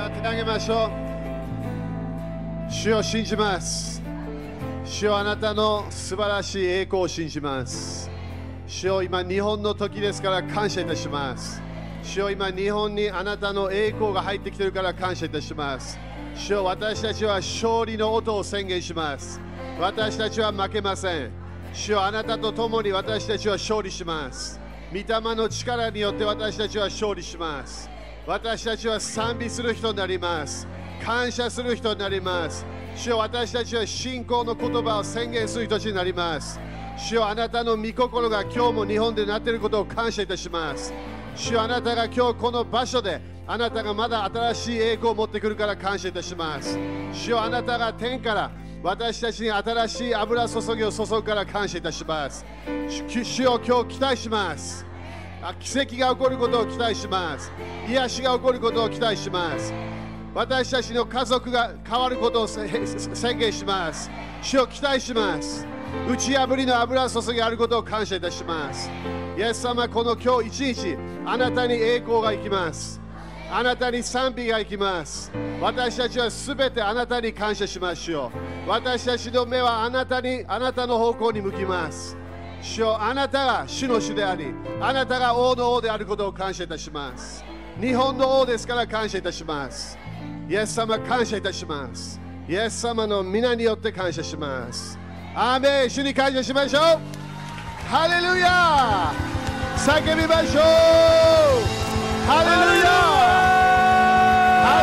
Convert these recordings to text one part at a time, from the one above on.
さあ手を挙げましょう。主を信じます。主よあなたの素晴らしい栄光を信じます。主よ今日本の時ですから感謝いたします。主よ今日本にあなたの栄光が入ってきているから感謝いたします。主よ私たちは勝利の音を宣言します。私たちは負けません。主よあなたと共に私たちは勝利します。御霊の力によって私たちは勝利します。私たちは賛美する人になります。感謝する人になります。主よ私たちは信仰の言葉を宣言する人たちになります。主よあなたの御心が今日も日本でなっていることを感謝いたします。主よあなたが今日この場所であなたがまだ新しい栄光を持ってくるから感謝いたします。主よあなたが天から私たちに新しい油注ぎを注ぐから感謝いたします。主よ今日期待します。奇跡が起こることを期待します。癒しが起こることを期待します。私たちの家族が変わることを宣言します。主を期待します。打ち破りの油注ぎあることを感謝いたします。イエス様、この今日一日、あなたに栄光が行きます。あなたに賛美が行きます。私たちはすべてあなたに感謝しましょう。私たちの目はあなたの方向に向きます。主よあなたが主の主であり、あなたが王の王であることを感謝いたします。日本の王ですから感謝いたします。イエス様感謝いたします。イエス様の皆によって感謝します。アーメン。主に感謝しましょう。ハレルヤ叫びましょう。ハレルヤハ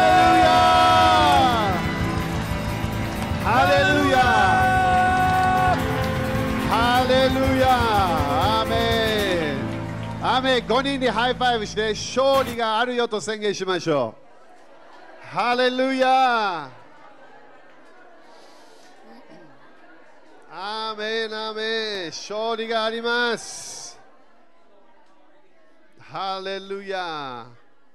レルヤハレルヤハレルヤアーメンアーメン。5人にハイファイブして勝利があるよと宣言しましょう。ハレルヤアーメンアーメン。勝利があります。ハレルヤ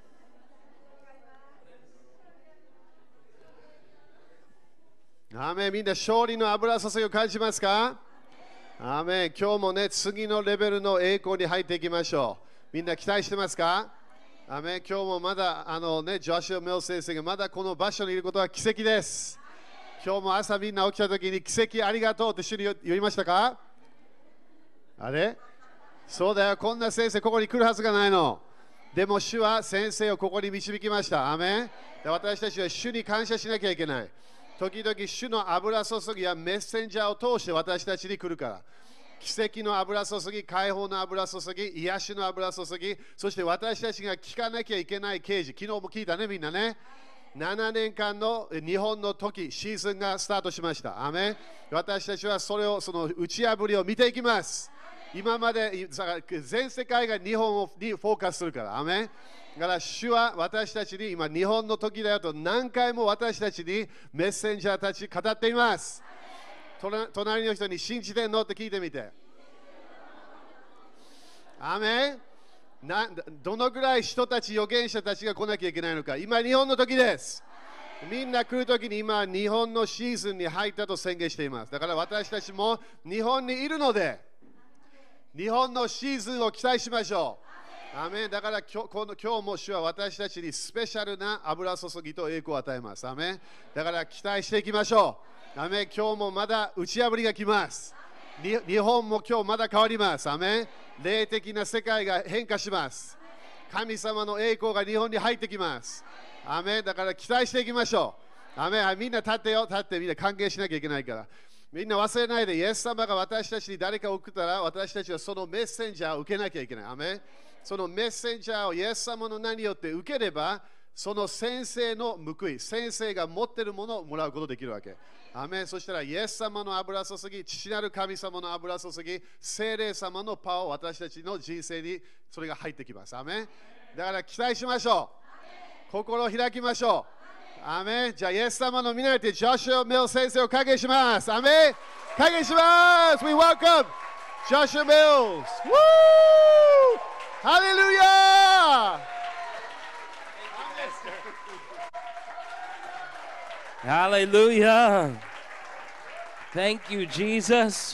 アーメン。みんな勝利の油注ぎを感じますか？アーメン。今日もね、次のレベルの栄光に入っていきましょう。みんな期待してますか？アーメン。今日もまだジョシュア・メル先生がまだこの場所にいることは奇跡です。今日も朝みんな起きたときに奇跡ありがとうって主に言いましたか？あれそうだよ。こんな先生ここに来るはずがないの。でも主は先生をここに導きました。アーメン。で私たちは主に感謝しなきゃいけない。時々主の油注ぎやメッセンジャーを通して私たちに来るから。奇跡の油注ぎ、解放の油注ぎ、癒しの油注ぎ、そして私たちが聞かなきゃいけない啓示。昨日も聞いたね、みんなね。7年間の日本の時、シーズンがスタートしました。アメン。私たちはその打ち破りを見ていきます。今まで全世界が日本にフォーカスするから。アメン。だから主は私たちに今日本の時だよと何回も私たちにメッセンジャーたち語っています。隣の人に信じてんのって聞いてみて。アメン。どのぐらい人たち、預言者たちが来なきゃいけないのか。今、日本の時です。みんな来るときに今、日本のシーズンに入ったと宣言しています。だから私たちも日本にいるので、日本のシーズンを期待しましょう。アメン。だから今日も主は私たちにスペシャルな油注ぎと栄光を与えます。アメン。だから期待していきましょう。アメン。今日もまだ打ち破りが来ます。日本も今日まだ変わります。アメン。霊的な世界が変化します。神様の栄光が日本に入ってきます。アメン。だから期待していきましょう。アメン。みんな立ってよ。立ってみんな歓迎しなきゃいけないから。みんな忘れないで、イエス様が私たちに誰かを送ったら、私たちはそのメッセンジャーを受けなきゃいけない。アメン。そのメッセンジャーをイエス様の名によって受ければ、その先生の報い、先生が持っているものをもらうことができるわけ。アメン。そしたら、イエス様の油注ぎ、父なる神様の油注ぎ、聖霊様のパワーを私たちの人生にそれが入ってきます。アメン。だから期待しましょう。心を開きましょう。アメン。じゃあ、イエス様の皆にて、ジョシュア・メル先生を歓迎します。アメン。歓迎します。We welcome Joshua Mills. Woo! Hallelujah! Hallelujah. Thank you, Jesus.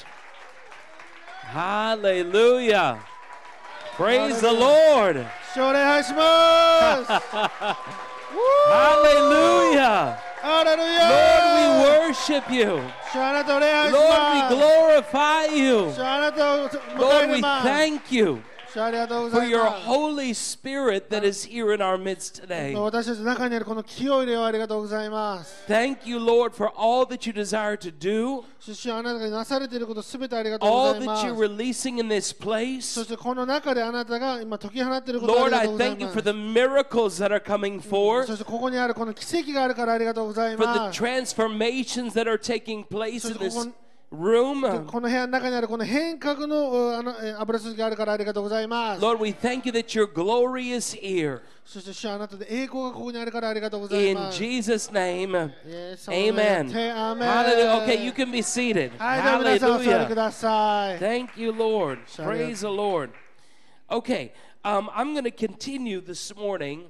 Hallelujah. Praise the Lord. お願いします。 Hallelujah. ハレル Lord, we ヤ worship you. 主あなたを礼拝し Lord, ま we す glorify you. 主あなたを迎 Lord, え we ます thank you 主ありがとうご for ざい your ます Holy Spirit that is here in our midst today. 私たちの中にあるこの清い霊をありがとうございます Thank you, Lord, for all that you desire to do, 主あなたがなされていることすべてありがとうご all ざいま that す you're releasing in this そ place. してこの中であなたが今解き放っていることをあ Lord, りが I とうござい thank you ま for す the miracles that are coming そ forth, してここにあるこの奇跡があるからありがとうござい for the ます transformations that are taking place in そしてこ this こ room. この部屋の中にあるこの変革の油注ぎがあるからありがとうございます Lord, we thank you that your glory is here. そして主あなたで栄光がここにあるからありがとうござい In ます Jesus' name, イエス様の名 amen. でアーメン Hallelujah. Okay, you can be seated. はい、では皆さんお座りく Hallelujah. ださい Thank you, Lord. Sorry. Praise the Lord. Okay, I'm going to continue this morning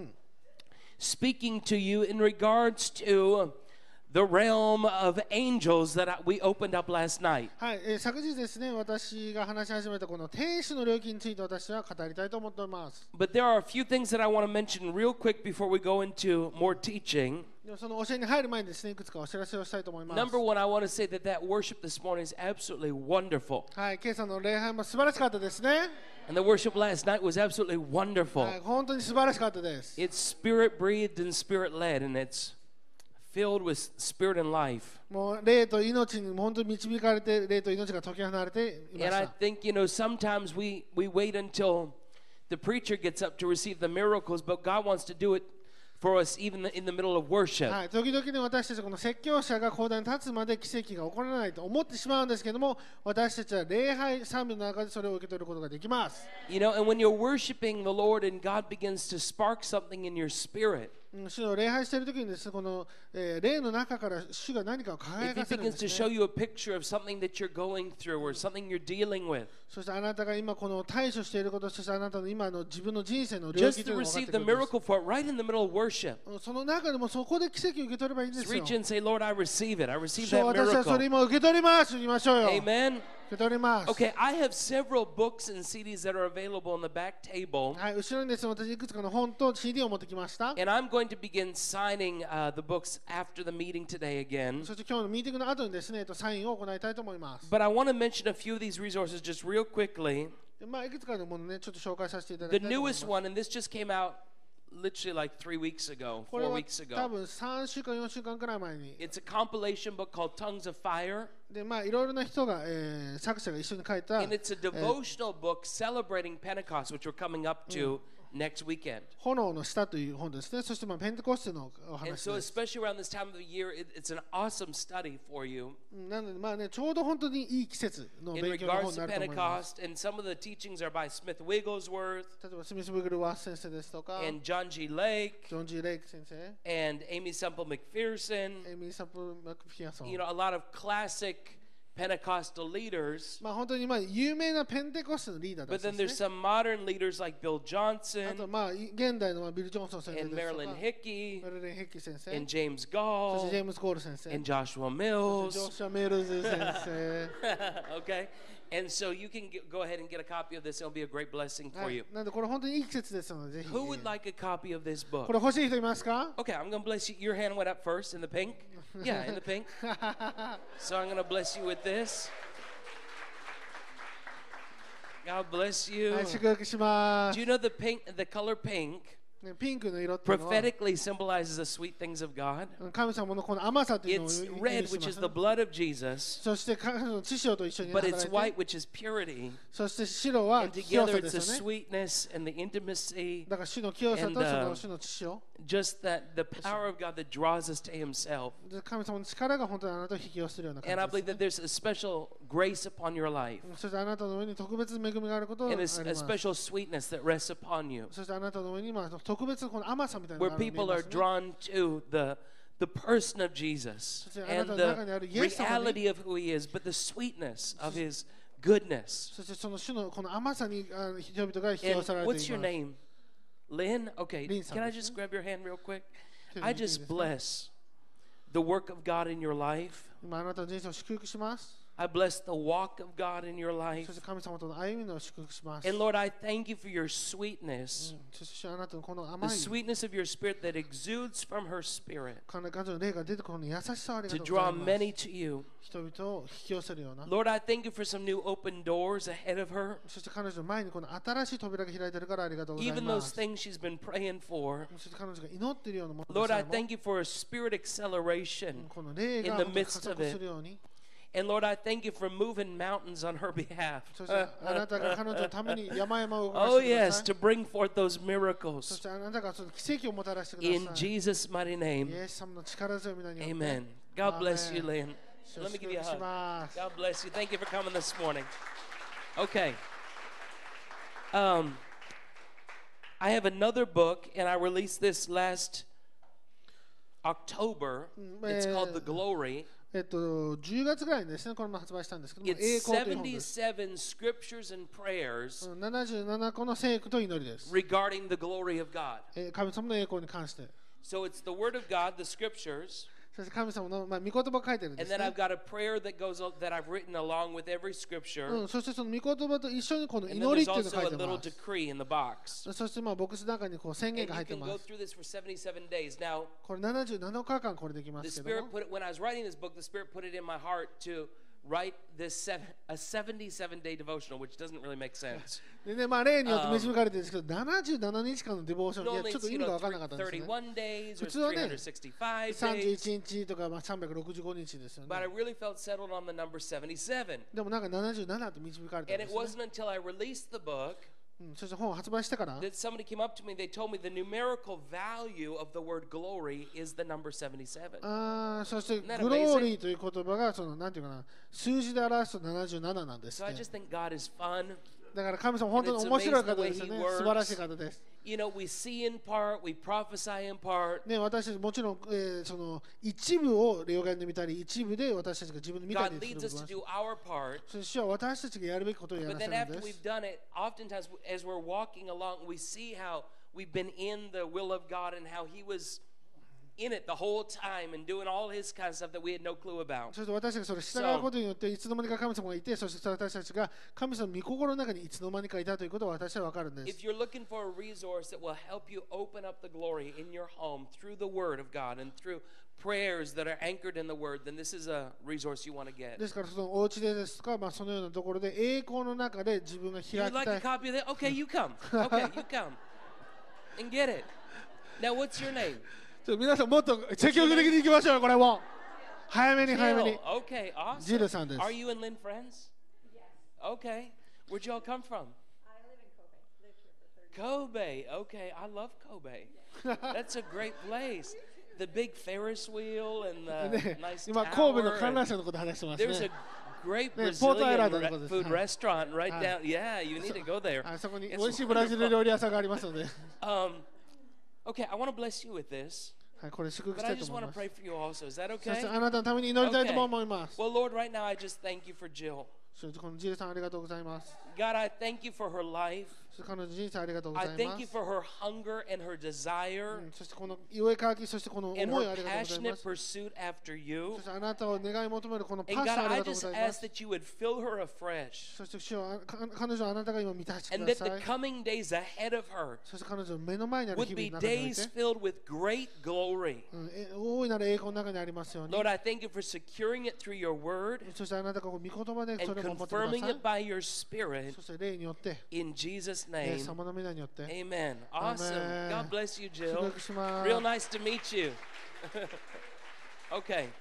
speaking to you in regards to the realm of angels that we opened up last night. はい、昨日ですね、私が話し始めたこの天使の領域について私は語りたいと思っております。 But there are a few things that I want to mention real quick before we go into more teaching. でもその教えに入る前にですね、いくつかお知らせをしたいと思います。 Number one, I want to say that worship this morning is absolutely wonderful. はい、今朝の礼拝も素晴らしかったですね。 And the worship last night was absolutely wonderful. はい、本当に素晴らしかったです。 It's spirit breathed and spirit led, and it's filled with spirit and life. もう霊と命に本当に導かれて、霊と命が解き放れていま And し I た。 think, sometimes we wait until the preacher gets up to receive the miracles, but God wants to do it for us even in the middle of worship. はい、時々ね、私たちこの説教者が講談に立つまで奇跡が起こらないと思ってしまうんですけども、私たちは礼拝賛美の中でそれを受け取ることができます。 And when you're worshiping the Lord and God begins to spark something in your spirit, 主の礼拝している時にですね、この、霊の中から主が何かを輝 if か He せるん begins で to す show ね。 you a picture of something that you're going through or something you're dealing with, そしてあなたが今この対処していること、そしてあなたの今の自分の人生の領 just 域と to いうのが分かっ receive て the くるんです。 miracle for it right in the middle of worship. その中でもそこで奇跡を受け取ればいいんで Just すよ reach。in and say, Lord, I receive it. I receive 主よ that 私はそれ miracle. 今受け取りますと言いましょうよ。受 Amen. け取ります。 Okay, I have several books and CDs that are available on the back table. はい、後ろにですね、私いくつかの本と CD を持ってきました。 And I'm going to begin signing the books after the meeting today again. そして今日のミーティングの後にですね、サインを行いたいと思います。 But I want to mention a few of these resources just real quickly. でまあ、いくつかのものね、ちょっと紹介させていただき The たいと思います。 newest one, and this just came out literally like 3 weeks ago, これ 4 は weeks 多 ago. 分3週間、4週間くらい前に。 It's a compilation book called Tongues of Fire. で、まあ、いろいろな人が、作者が一緒に書いた、 And it's a devotional book celebrating Pentecost, which we're coming up to next weekend. 炎の下という本ですね。そして、まあ、ペンテコステのお And 話 so, です。 especially around this time of the year, it's an awesome study for you なので、まあね、ちょうど本当にいい季節の in 勉強の本 regards に to なると思います。 Pentecost. And some of the teachings are by Smith Wigglesworth 例えば、スミス・ブグル・ワース先生ですとか、 and John G. Lake ジョン・ジー・レイク先生、 and Amy Semple McPherson. エミー・サプ・マクフィアソン。 A lot of classic Pentecostal leaders. まあ、本当にまあ有名なペンテコステのリーダーた But ち then で there's すね。 some modern leaders like Bill あと Johnson まあ現代のまあビル・ジョンソン先生 and ですとか Marilyn Hickey メルリン・ヘッキー先生、 and James そして Gall ジェームス・ゴール先生、 and Joshua そしてジョ Mills. シュア・メールズ先生。 Okay? And so you can go ahead and get a copy of this. It'll be a great blessing は for い you. なんでこれ本当にいい季節ですのでぜひ。 Who would like a copy of this こ book? れ欲しい人いますか？ Okay, I'm going to bless you. Your hand went up first in the pink. Yeah, in the pink. So I'm going to bless you with this. God bless you. はい、祝福しま Do す you。know the color pink ねピンクの色っていうのは prophetically symbolizes the sweet things of God? 神様のこの甘さというのを It's 意 red, 味し which ま is す the blood of Jesus, そして神の血潮と一緒に but 働 it's い white, て、 which is purity. そして白は And 清 together さ it's で the すよね。 sweetness and the intimacy, だから主の清さと And, その主の血潮。 just that the power of God that draws us to Himself. で神様の力が本当にあなたを引き寄せるような And I 感じ believe です、 that there's a special grace upon your life そしてあなたの上に特別恵みがあることがあ and り a ます。 special sweetness that rests upon you, そしてあなたの上に今特別この甘さみたいな where のがあるのが見え people ま are すね drawn to the person of Jesus and the reality of who He is, but the sweetness of His goodness. そしてその主のこの甘さに人々が引き寄 And せられてい what's your ます。 name? Lynn? Okay, Lynn can I さんです just grab your hand real quick? 手を I 握っていい just ですか？ bless the work of God in your life. 今あなたの人生を祝福します。 I bless the walk of God in your そ life. して神様との歩みの祝福します。 And Lord, I thank you for your sweetness, そしてあなたのこの甘 the い sweetness of your spirit that exudes from her spirit 彼女の霊が出てこの優しさをありが to とうござ draw います。 many to you. 人々を引き寄せるような。 Lord, I thank you for some new open doors ahead of her. そして彼女の前にこの新しい扉が開いているからありがとうござい Even ま those す。 things she's been praying for. そして彼女が祈っているようなもの Lord, で I さえも thank you for a spirit acceleration. この霊 in が the 本当に midst 加 of 速 it. するように。 And Lord, I thank you for moving mountains on her behalf. そしてあなたが彼女のために山々を動か Oh, してくだ yes, さい。 to bring forth those そ miracles. してあなたがその奇跡をもたらしてくだ In さい。 Jesus' mighty イ name. エス様の力強い皆によって。 Amen. God bless you, Amen. Lynn. Let me give you a 祝福し hug. ます。 God bless you. Thank you for coming this morning. Okay. I have another book, and I released this last October. It's called The Glory. 10月ぐらいにですね、これも発売したんですけども、 It's 栄光という本です。 77 scriptures and prayers 77個の聖句と祈りです。 regarding the glory of God. 神様の栄光に関して。 So it's the Word of God, the scriptures, そして神様の御言葉を書いてるんで and す then ね I've。got a prayer that goes that I've written along with every scripture. そしてその御言葉と一緒にこの And 祈 then り there's っていうのを also 書い a て little ます。 decree in the box. そしてボックスの中にこう宣 And 言が you 入って can ま go す。 through this for 77 days. Now, これ77日間これできま the すけど Spirit も。 put it, when I was writing this book, the Spirit put it in my heart to write this a 77-day devotional, which doesn't really make sense. でね、例によって導かれてるんですけど、77日間のデボーション、いや Normally ちょっと it's, 意味が分からなかったんですね。 31 days or 普通はね、 365 days. 31日とか365日ですよ But I ね。 really felt settled on the number 77. でもなんか77って導かれたん And で it すね。 wasn't until I released the book そして本を発売してから、 that somebody came up to me. They told me the numerical value of the word glory is the number 77. そして Isn't that グローリーという言葉がそのなんていうかな、数字で表すと77なんです So っ I て。 just think God is fun. だから神様本当に面白い方ですよね。素晴らしい方です。 You know, we see in part, we prophesy in part. ね、私たちもちろん、その一部を霊眼で見たり、一部で私たちが自分で見た God りする leads こ us と to は do our part. そして主は私たちがやるべきことをや But らせ then るん after です we've。done it, oftentimes as we're walking along, we see how we've been in the will of God and how He was in it the whole time and doing all His kind of stuff that we had no clue about. そして私たちがそれ従うことによっていつの間にか神様がいて、そして私たちが神様の御心の中にいつの間にかいたということは私は分かるんです。 If you're looking for a resource that will help you open up the glory in your home through the Word of God and through prayers that are anchored in the Word, then this is a resource you want to get. ですからそのお家でですとか、そのようなところで栄光の中で自分が開 You'd き like た a い。 copy of that? Okay, you come. Okay, you come. And get it. Now, what's your name? 皆さんもっと積極的に行きましょう、これも。早めに早めに Jill. Okay, awesome. ジルさんです。 Are you and Lynn friends? Okay. Where'd y'all come from? I live in Kobe. Lived here for 30 years. Kobe. Okay, I love Kobe. That's a great place. The big Ferris wheel and the ね nice 今神戸の tower. 観覧 and 車のこと話してます There's ね a。great 네, 포토 아일랜드 Brazilian 거기서. food 아. restaurant right 아. down. Yeah, you need to go there. あそこに It's 美味しいブラジル wonderful. 料理屋さんがありますので、 Okay, I want to bless you with this, はい、これ祝福 but した I いと just 思い want to ます。 pray for you also. Is that そ okay? してあなたのために祈りたいとも思います。 Well, Lord, right now I just thank you for Jill. そしてこのジルさんありがとうございます。 God, I thank you for her life. そして彼女の人生ありがとうご I ざい thank ま you す。 for her hunger and her desire そしてこの上かき、そしてこの and 思い her ありがとうございま passionate す。 pursuit after you. そしてあなたを願い求めるこのパッ And ション God, あり I がとうご just ざいま ask す。 that you would fresh her afresh そして主よ彼女はあなたが今満たしてく and だ that さ the い。 coming days ahead of her そして彼女の目の前にある would 日々 be の中におい days て、 filled with great glory. 大いなる栄光の中にありますように。 Lord, I thank you for securing it through your word そしてあなたが御言葉で and それを守ってくだ confirming さい it。by your spirit そして霊によって、 in Jesus' イエ name. ス様の皆によって、 Amen. Awesome. Amen. God bless you, 祝 Jill. 福します。 Real nice to meet you. Okay.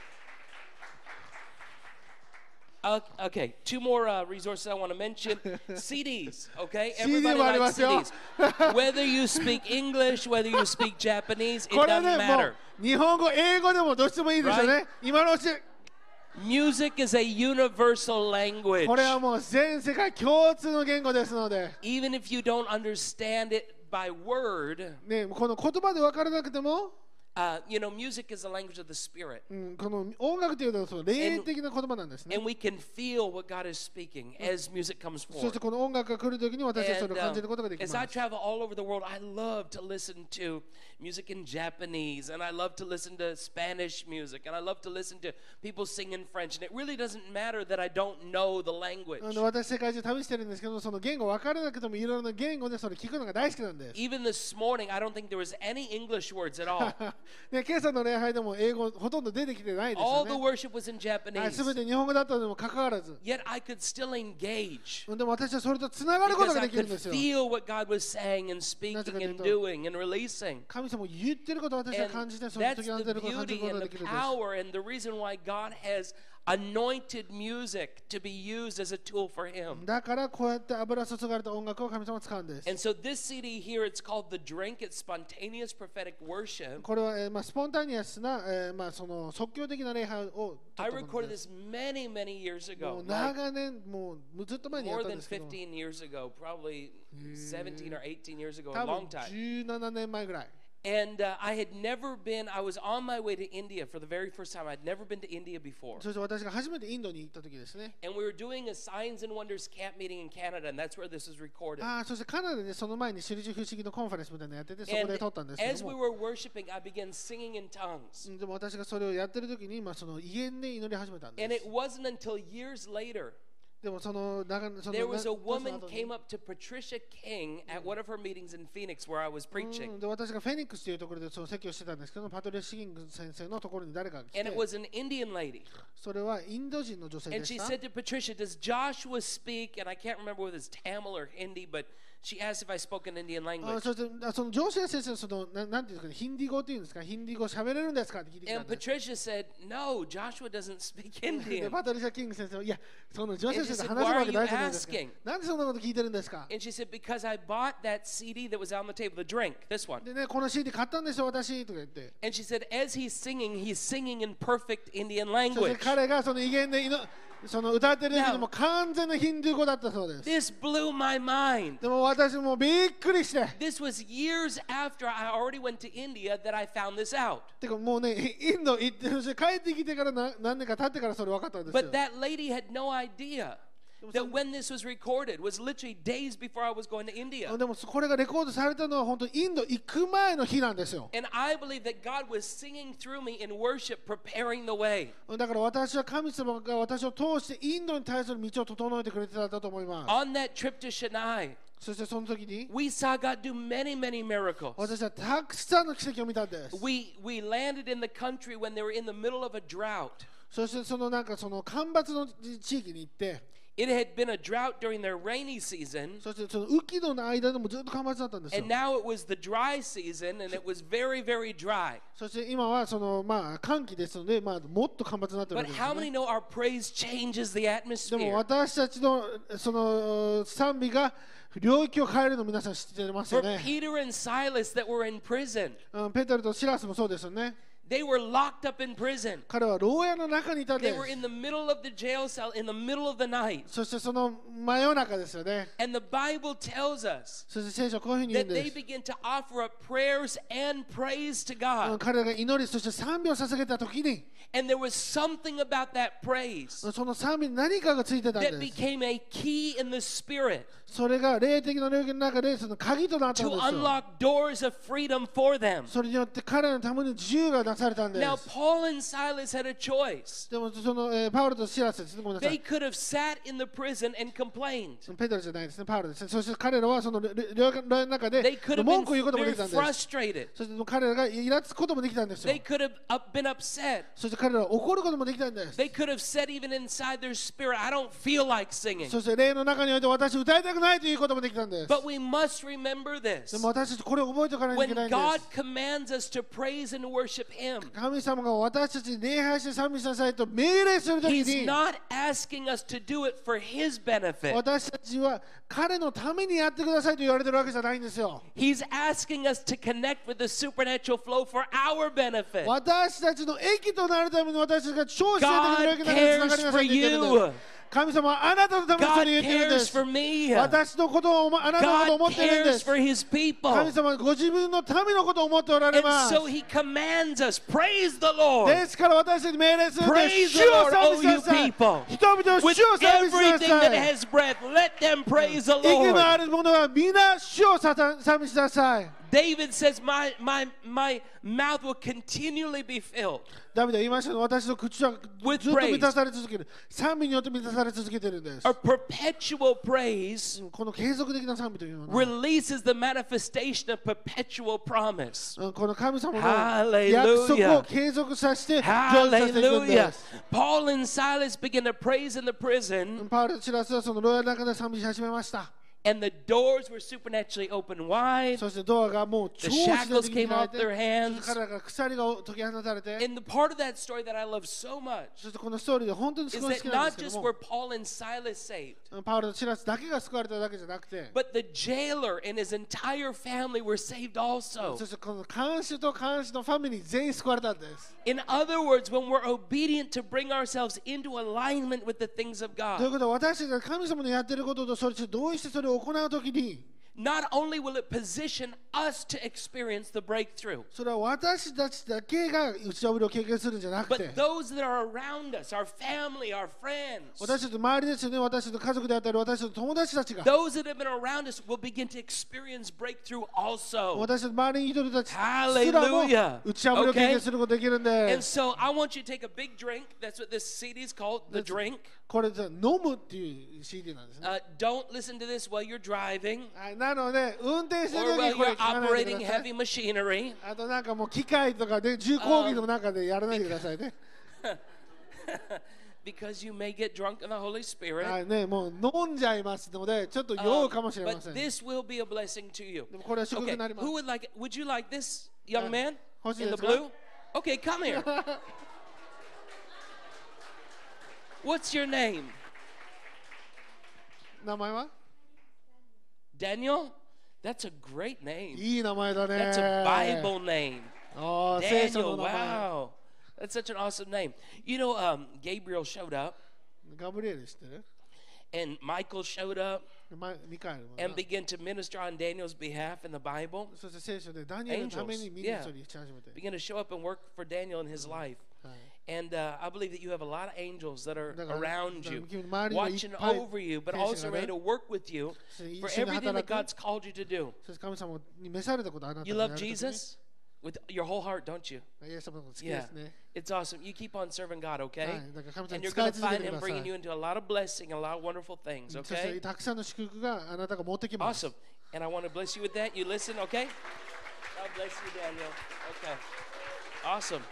Okay, two more resources I want to mention. CDs, okay? Everybody CD likes もありま CDs. Whether you speak English, whether you speak Japanese, it これ doesn't ね、も matter. う日本語、英語でもどっちでもいいですよね。今のうち、 Music is a universal language. これはもう全世界共通の言語ですので、 Even if you don't understand it by word, ね、この言葉で分からなくても、 Music is the language of the Spirit. この音楽というのはその霊的な言葉なんですね。 And we can feel what God is speaking as music comes そして forward. この音楽が来るときに私たちそれを And 感じることができま as I す。 travel all over the world, I love to listen to music in Japanese, and I love to listen to Spanish music, and I love to listen to people sing in French. And it really doesn't matter that I don't know the language. 私世界中旅してるんですけど、その言語分からなくてもいろいろな言語でそれ聞くのが大好きなんです。 Even this morning, I don't think there was any English words at all. で今朝の礼拝でも英語ほとんど出てきてないです All よ the ね。 worship was in はい、 Japanese. 全て日本語だったのにもかかわらず、 Yet I could still engage でも私はそれとつながること because が I できるん could ですよ。 feel what God was saying and speaking and doing and releasing. 神様言ってることを私は And 感じて、その that's 時が the 出ることを感じる beauty ことが and で the きるんです。 power and the reason why God has anointed music to be used as a tool for Him. だからこうやって油注がれた音楽を神様は使うんです。 And so this CD here, it's called The Drink. It's spontaneous prophetic worship. これは、スポンタニアスな、その即興的な礼拝を撮 I ったもの recorded です。 this many, many years も ago. う Like 長年、もうずっと前にやっ more たん than ですけど、 15 years ago, probably 17 or 18 years ago, 多 a 分 long time. 17年前ぐらい。 And I had never been, I was on my way to India for the very first time. I'd never been to India before. そして私が初めてインドに行った時ですね。 And we were doing a Signs and Wonders camp meeting in Canada, and that's where this was recorded. そしてカナダでその前に印不思議のコンファレンスみたいなのやってて、そこ And で撮ったんですけ as ど we も、 were worshiping, I began singing in tongues. でも私がそれをやってる時に、その威厳で祈り始めたんで And す it。wasn't until years later でもその there was a その woman 後に came up to Patricia King at one of her meetings in Phoenix where I was preaching. で私がフェニックスというところでその説教してたんですけど、パトリア・シギング先生のところに誰かが来 And て it、was an Indian lady. それはインド人の女性 And で she した。 said to Patricia, Does Joshua speak? And I can't remember whether it's Tamil or Hindi, but she asked if I spoke an Indian language. そしてそのジョシュア先生のそのなんていうんですかね、ヒンディ語っていうんですか、ヒンディ語喋れるんですかって聞いてきた And んです。 Patricia said, No, Joshua doesn't speak で Indian. パトリシャ・キング先生は、いや、そのジョシュア先生 And she said, 話すわけ "Why are ない you じゃないですか asking?。 なんでそんなこと聞いてるんですか。 And she said, Because I bought that CD that was on the table, the drink, this one. でね、この CD 買ったんですよ、私とか言って。 And she said, As he's singing in perfect Indian そして language. 彼がその威厳でその歌ってる時にも完全なヒンディー語だったそうです。 This blew my mind. でも私もびっくりして。 This was years after I already went to India that I found this out. てかもうね、インド行ってそして帰ってきてから何年か経ってからそれ分かったんですよ。 But that lady had no idea that when this was recorded was literally days before I was going to India. でもこれがレコードされたのは本当にインド行く前の日なんですよ。 And I believe that God was singing through me in worship, preparing the way. だから私は神様が私を通してインドに対する道を整えてくれてたんだと思います。 On that trip to Chennai, そしてその時に we saw God do many, many miracles. 私はたくさんの奇跡を見たんです。 We landed in the country when they were in the middle of a drought. そしてそのその干ばつの地域に行って、 It had been a drought during their rainy season, そしてその雨季の間でもずっと干ばつだったんですよ and。now it was the dry season, and it was very, very dry. そして今はその寒気ですので、もっと干ばつになってるわ But けです how よ many ね。 know our praise changes the でも atmosphere? 私たちのその賛美が領域を変えるの皆さん知ってますよ For ね。 Peter and Silas that were in prison, ペテロとシラスもそうですよね。 they were locked up in prison. 彼は牢屋の中にいたん They で were す。 in the middle of the jail cell in the middle of the night. そしてその真夜中ですよね。 And the Bible tells us そして聖書はこういうふうに言う that んで they す。 began to offer up prayers and praise to God. 彼が祈り、そして賛美を捧げた時に、 And there was something about that praise その賛美に何かがついてたん that です。 became a key in the spirit それが霊的な領域の中でその鍵となったん to ですよ。 unlock doors of freedom for them. それによって彼らのために自由がなされたんで Now, す。 Paul and Silas had a choice. でもその、パウロとシラスですね、ごめんなさ They い。 could have sat in the prison and complained. ペテロじゃないですね、パウロですね。そして彼らはその領域の中 They で could have 文 been 句を言うこともで very きたんです。 frustrated. そして彼らがイラつくこともできたんですよ They。could have been upset. そして彼らは怒ることもできたんです。 They could have said even inside their spirit, I don't feel like singing. そして霊の中において私歌いたくないということもできたんです。 But we must remember で this. も私たちこれを覚えておかないとい When けないんで God す。 commands us to praise and worship Him, 神様が私たちに礼拝して賛美しなさいと命令するとき He's に、 not asking us to do it for His benefit. 私たちは彼のためにやってくださいと言われてるわけじゃないんですよ。 He's asking us to connect with the supernatural flow for our benefit. 私たちの益となるために私たちが超自然的な領域の中でつながり God なさいと言ってるん cares for です。 神様はあなたのためにそ God れ言ってるんで cares す for me. 私のことをあなたのことを思 God っているんで cares す for his people. 神様はご自分の民のことを思っておられ And ます so he commands us, praise the Lord ですから私たちに命令するんで Praise す the 主を Lord, 賛 O 美しな you さい people. 人々を with 主を賛美しな everything さ that い has breath. Let them praise the 息の Lord. ある者は皆主を賛美しなさい David says, my mouth will continually be filled. ダビデは言いましたが私の口はず With っと満たされ続ける賛美によって満たされ続けているんです A perpetual praise この継続的な賛美というのは releases the manifestation of perpetual promise. この神様の Hallelujah. 約束を継続させて成就させていくんで Hallelujah. す Paul and Silas began to praise in the prison, パウロとシラスはその牢屋の中で賛美し始めました and the doors were supernaturally opened wide. そしてドアがもう超 The 自然 shackles 的に came 開い off て their hands. そして彼らから鎖が解き放たれて And the part of that story that I love so much そしてこのストーリーで本当にす is ごい好 that きなんで not すけど just も were Paul and Silas saved, パウロとシラスだけが救われただけじゃなくて but the jailer and his entire family were saved also. そしてこの看守と看守のファミリー全員救われたんです In other words, when we're obedient to bring ourselves into alignment with the things of という God, ことは私たちが神様のやっていることとそれと同意してそれを行うときに not only will it position us to experience the breakthrough, それは私たちだけが打ち破りを経験するんじゃなくて but those that are around us, our family, our friends, 私たちの周りですよね私たちの家族であったり私たちの友達たちが those that have been around us will begin to experience breakthrough also. 私たちの周りにいる人たちすらも Hallelujah. 打ち破りを経験することができるん And で so I want you to take a big drink. That's what this CD is called, The Drink. これじゃ飲むっていう CD なんですね Don't listen to this while you're driving はいなので運転してる or 時 while にこれ you're 聞かないで operating ください heavy machinery. あとなんかもう機械とかで重工技の中でやらないでくださいね Because you may get drunk in the Holy Spirit. はいねもう飲んじゃいますのでちょっと酔うかもしれま But せん this will be a blessing to you. でもこれは祝福 Okay, になります who would like it? Would you like this, young man? 欲しい In で the すか blue? Okay, come here. What's your name? 名前は Daniel? That's a great name. いい名前だね That's a Bible name. あー聖書 Daniel, の名前 wow. That's such an awesome name. You know, Gabriel showed up ガブリエル知ってる and Michael showed up ミカエルもな and began to minister on Daniel's behalf in the Bible. そして聖書でダニエルのためにミニストリーし始めて Began to show up and work for Daniel in his life. はい And I believe that you have a lot of angels that are だから around you, 君の周りにはいっ watching ぱい over you, but 天使 also がね ready to work with you そして一 for 緒に everything 働 that く God's called you to do. そして神様に召されたことあなた You がや love る時に Jesus with your whole heart, don't you? イエス様のこと好きで Yeah. すね It's awesome. You keep on serving God, は okay? いだから神様 And に you're 使い going to 続け find てく Him ださい bringing you into a lot of blessing and a lot of wonderful things, そして okay? たくさんの祝福があなたが持ってきます Awesome. And I want to bless you with that. You listen, okay? God bless you, Daniel. Okay. Awesome.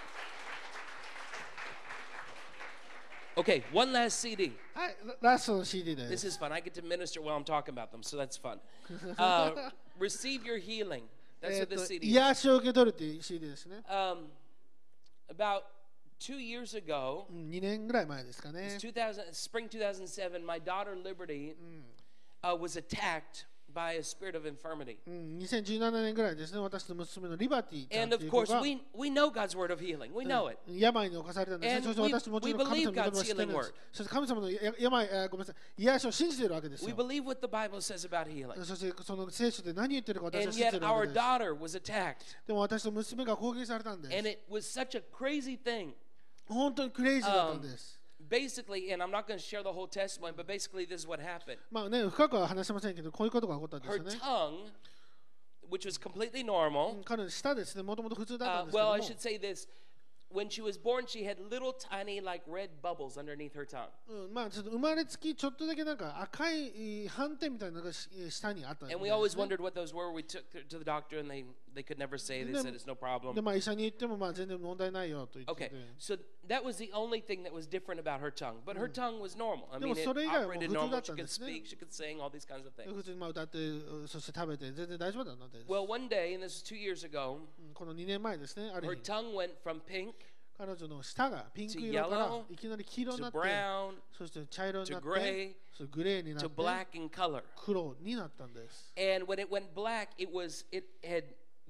Okay, one last CD. はいラストの CD で This す is fun. I get to minister while I'm talking about them, so that's fun. Receive your healing. That's what this CD is. 癒しを受け取るっていう CD ですね About 2 years ago, 2年ぐらい前ですかね spring 2007, my daughter Liberty was attacked by a spirit of infirmity. 2017年ぐらいですね私の娘のリバティちゃん And とい of う子 course, が we know God's word of healing. We know it. 病に侵されたんですね And そして私もちろん we 神様の言葉を believe 知ってるんで God's healing すそして神様のごめんなさい癒しを信じているわけです We よ believe what the Bible says about healing. そしてその聖書で何言ってるか私は And 知ってい yet るわ our けです daughter was attacked. でも私の娘が攻撃されたんです And it was such a crazy thing. 本当にクレイジーだったんです Basically, and I'm not going to share the whole testimony, but basically this is what happened. まあね深くは話しませんけどこういうことが起こったんです Her よね tongue, which was completely normal, 彼の舌ですねもともと普通だったんですけど well, も I should say this. When she was born, she had little tiny like red bubbles underneath her tongue. まあちょっと生まれつきちょっとだけなんか赤い斑点みたいなのが下にあったんです And we always wondered what those were. We took her to the doctor and they could never say. They said it's no で problem. まあ医者に言ってもまあ全然問題ないよと言って Okay, て so that was the only thing that was different about her tongue. But her tongue was normal. I でも mean, it それ以外はもう operated 普通だ normal. った She んで could すね speak, she could sing, all these kinds of things. 普通にまあ歌ってそして食べて全然大丈夫だったんです Well, one day, and this was 2 years ago, この2年前ですねあ her る日 tongue went from pink 彼女の舌がピンク色から to いきなり黄色に to なって brown そして茶色になっ to gray てそれグレーになっ to て black in color. 黒になったんです And when it went black, it had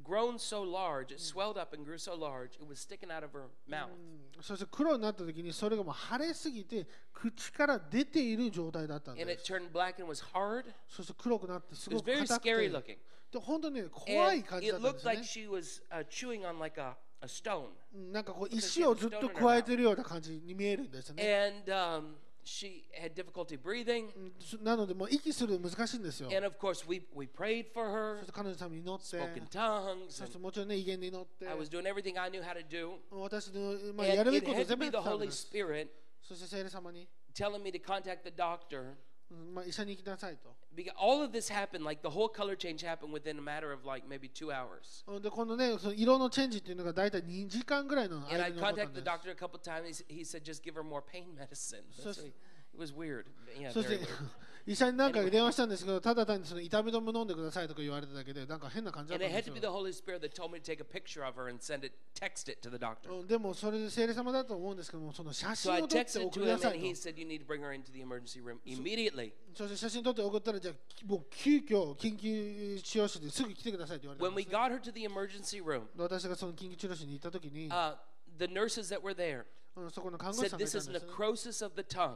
grown so large, it swelled up and grew so large, it was sticking out of her mouth. そして黒になった時にそれがもう腫れすぎて口から出ている状態だったん And で it す。 turned black and was hard. そして黒くなってす It ご was く very 硬く scary て looking. で本当に怖い And 感じだ it ったんです looked ね like。she was chewing on like a stone. なんかこう石をずっと加えてるような感じに見えるんですね。 And she had difficulty breathing. なのでもう息するの難しいんですよ。 And of course, we prayed for そ her, して彼女のために祈って、 spoke in tongues. そして And もちろんね威厳で祈って、 I was doing everything I knew how to do. 私のまあ And やるべ it きことを had to 全部 be やって the たん Holy です。 Spirit そして聖霊様に、 telling me to contact the doctor. まあ医者に行きなさいと。 Because all of this happened, like the whole color change happened within a matter of like maybe 2 hours. でこのねその色のチェンジっていうのがだいたい2時間ぐらいの And 間 I に起こったん contacted で the す。 doctor a couple times. He said, just give her more pain medicine. So- It was weird. Yeah, そし very て weird. 医者に何回か電話したんですけど、ただ単にその痛み止め飲んでくださいとか言われただけで、なんか変な感じだっ And たん it で had す to be the よ。 Holy Spirit that told me to take a picture of her and text it to the doctor. でもそれで聖霊様だと思うんですけども、その写 So 真 I を撮って texted 送 to りな him さ and い he と。 said, you need to bring her into the emergency room immediately. そして写真撮って送ったら、じゃあもう急遽緊急治療室ですぐ来てくださいって言われた When ん we です got her to the emergency room, 私がその緊急治療室に行った時に、 the nurses that were there そこの看護師 said さんがい this た is んですね。 necrosis of the tongue,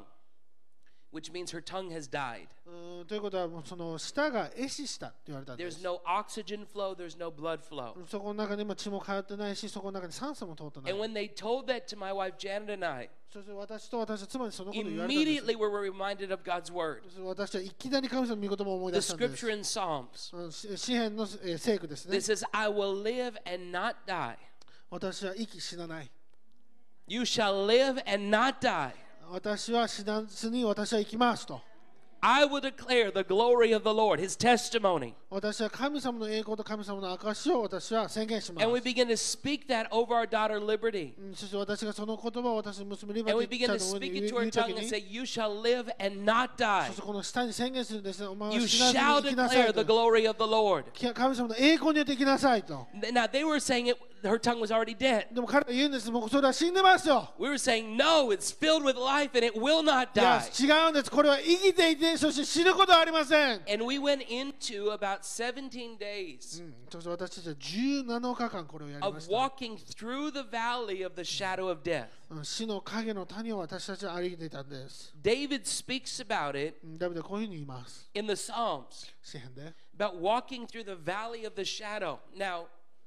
which means her tongue has died. ということはもうその舌が壊死したって言われたんで There's す。 no oxygen flow, there's no blood flow. そこの中に今血も通ってないし、そこの中に酸素も通ってない And。when they told that to my wife Janet and I, そして私と私の妻にそのことを言われたんです。 immediately we were reminded of God's word, 私はいきなり神様の御言葉を思い the 出したんです scripture。in Psalms 詩篇の聖句ですね that。says, I will live and not die. 私は息死なない。 You shall live and not die. 私は死なずに私は生きますと。 I will declare the glory of the Lord, his testimony. 私は神様の栄光と神様の証しを私は宣言します And。we begin to speak that over our daughter Liberty. そして私がその言葉を私の娘リバ And we ティ begin ちゃん to の上 speak に it 言 to う her 時 tongue に and say, You shall live and not そ die. してこの下に宣言するんですね。お前は You 死なず shall に生きなさ declare い the と。 glory of the Lord. 神様の栄光によって生きなさいと。 Now, they were saying her tongue was already dead. でも彼は言うんです。もうそれは死んでますよ。 We were saying, No, it's filled with life and it will not いや die. 違うんです。これは生きていて、そして死ぬことはありません。 And we went into about 17 days そして私たちは17日間これをやりま of した。 walking through the valley of the shadow of death. 死の影の谷を私たちは歩いていたんです。 David speaks about it ダビデはこういうふうに言います。 in the Psalms 詩篇で。 about walking through the valley of the shadow. Now,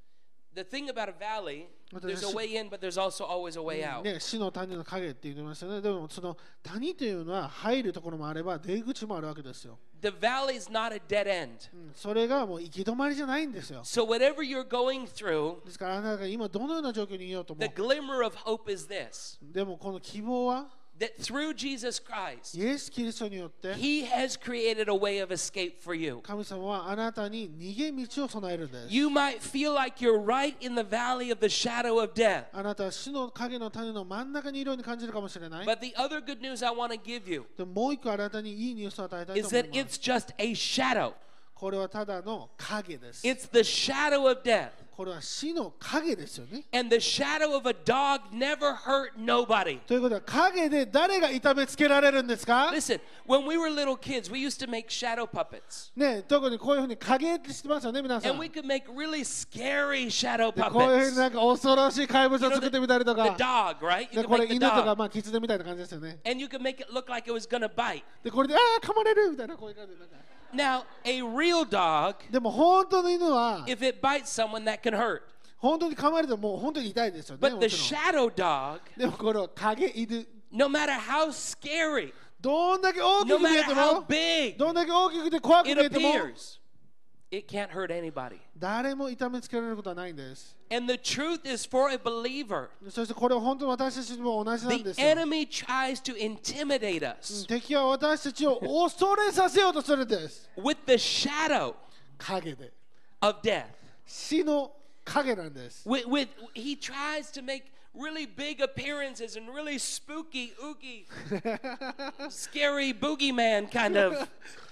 the thing about a valley, there's a way in, but there's also always a way out. ね、死の谷の影って言ってましたね。でもその谷というのは入るところもあれば出口もあるわけですよ。 The valley is not a dead end. それがもう行き止まりじゃないんですよ。 So, whatever you're going through, ですからあなたが今どのような状況にいようとも the glimmer of hope is this でもこの希望は that through Jesus Christ, イエス・キリストによって He has created a way of escape for you. 神様はあなたに逃げ道を備えるんです。 You might feel like you're right in the valley of the shadow of death. あなたは死の影の谷の真ん中にいるように感じるかもしれない。 But the other good news I want to give you でももう一個あなたにいいニュースを与えたいと is 思い that ます it's just a shadow. これはただの影です。 It's the shadow of death. これは死の影ですよね。 And the shadow of a dog never hurt nobody. ということは影で誰が痛めつけられるんですか？ Listen, when we were little kids, we used to make shadow puppets. ね、特にこういうふうに影って知ってますよね、皆さん。 And we could make really scary shadow でこういうふうに puppets. なんか恐ろしい怪物 You を know, 作ってみたりと the か。 dog, right? You で could これ make the 犬とか dog. まあ狐みたいな感じですよね。 And you could make it look like it was going to bite. でこれでああ噛まれるみたいなこういう感じでなんか。 Now, a real dog, でも本当の犬は if it bites someone, that can hurt. 本当に噛まれてももう本当に痛いですよね。 But も the ちろん shadow dog, でもこの影犬 no matter how scary, どんだけ大き no く見え matter て how も big どんだけ大きくて怖く見 it えても appears, it can't hurt anybody. 誰も痛めつけられることはないんです。 And the truth is for a believer, そしてこれは本当に私たちも同じなん the ですよ。 enemy tries to intimidate us 敵は私たちを恐れさせようとするんです。 with the shadow 影で。 of death. 死の影なんです。 He tries to make really big appearances and really spooky, ooky, scary boogeyman kind of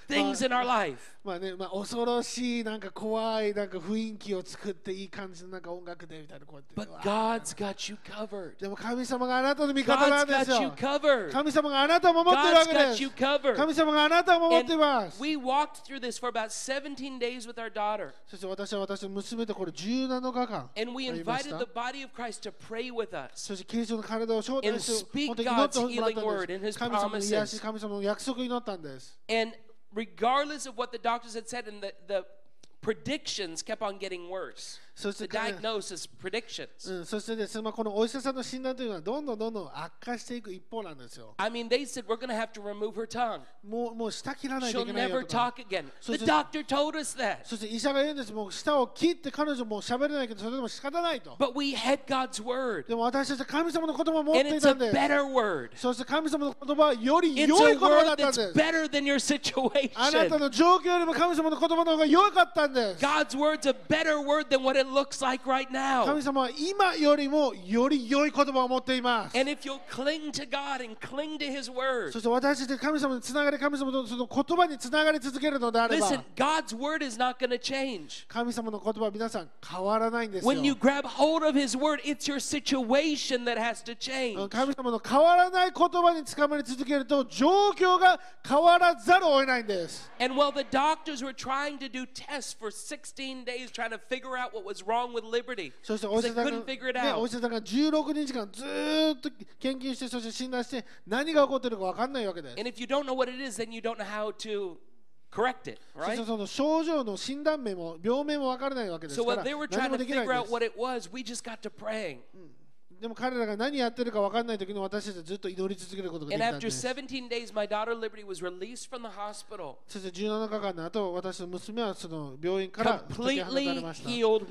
things in our life. まあね、恐ろしいなんか怖いなんか雰囲気を作っていい感じのなんか音楽でみたいなこうやって。 But God's got you covered. でも神様があなたの味方な God's んです got you よ。 covered. 神様があなたを守っているわ God's けで got す you。covered. 神様があなたを守っています And。we walked through this for about 17 days with our daughter. そして私は私の娘とこれ17日間 And we ありまし invited た the。body of Christ to pray with us. そしてキリストの体を招 And 待して speak 本当に祈ってもらっ God's た healing ん word で and す。 His 神様の癒 promises. し、神様の約束を祈ったんです。 And regardless of what the doctors had said, and the predictions kept on getting worse. そし The て、 diagnosis, predictions. そしてですね、このお医者さんの診断というのはどんどん悪化していく一方なんですよ。 I mean, they said we're going to have to remove her tongue. もう舌切らないとい She'll けないよ never とか。 talk again. So The just- doctor told us that. そして医者が言うんです。もう舌を切って彼女もう喋れないけどそれでも仕方ないと。 But we had God's word. でも私たちは神様の言葉を持っ And てい it's た a んです。 better word. そして神様の言葉はより It's 良い a 言葉だ word ったん that's です。 better than your あなた situation. の状況よりも神様の言葉の方が良かったんです。 God's word's a better word than what it looks like right 神 now. 様は今よりもより良い言葉を持っています。 And if you'll cling to God and cling to His word, そして私たちが神様につながり、神様とその言葉につながり続けるのであれば、 listen, God's word is not going to change. 神様の言葉は皆さん変わらないんですよ。 When you grab hold of His word, it's your situation that has to change. 神様の変わらない言葉につかまり続けると状況が変わらざるを得ないんです。 And while the doctors were trying to do tests for 16 days trying to figure out what was wrong with Liberty, そしてお医 they 者さん couldn't figure it が、お out. 医者さんが16日間ずーっと研究して、そして診断して何が起こっているか分かんないわけです。 And if you don't know what it is, then you don't know how to correct it, そして right? その症状の診断名も病名も分からないわけです So から while they were 何 trying も to できない figure ん out です。 what it was, we just got to praying. でも彼らが何やってるか分かんない時に私たちはずっと祈り続けることができ And たん after です。 17 days, my daughter Liberty was released from the hospital, そして17日間の後、私の娘はその病院から解き放たれ completely ました。 healed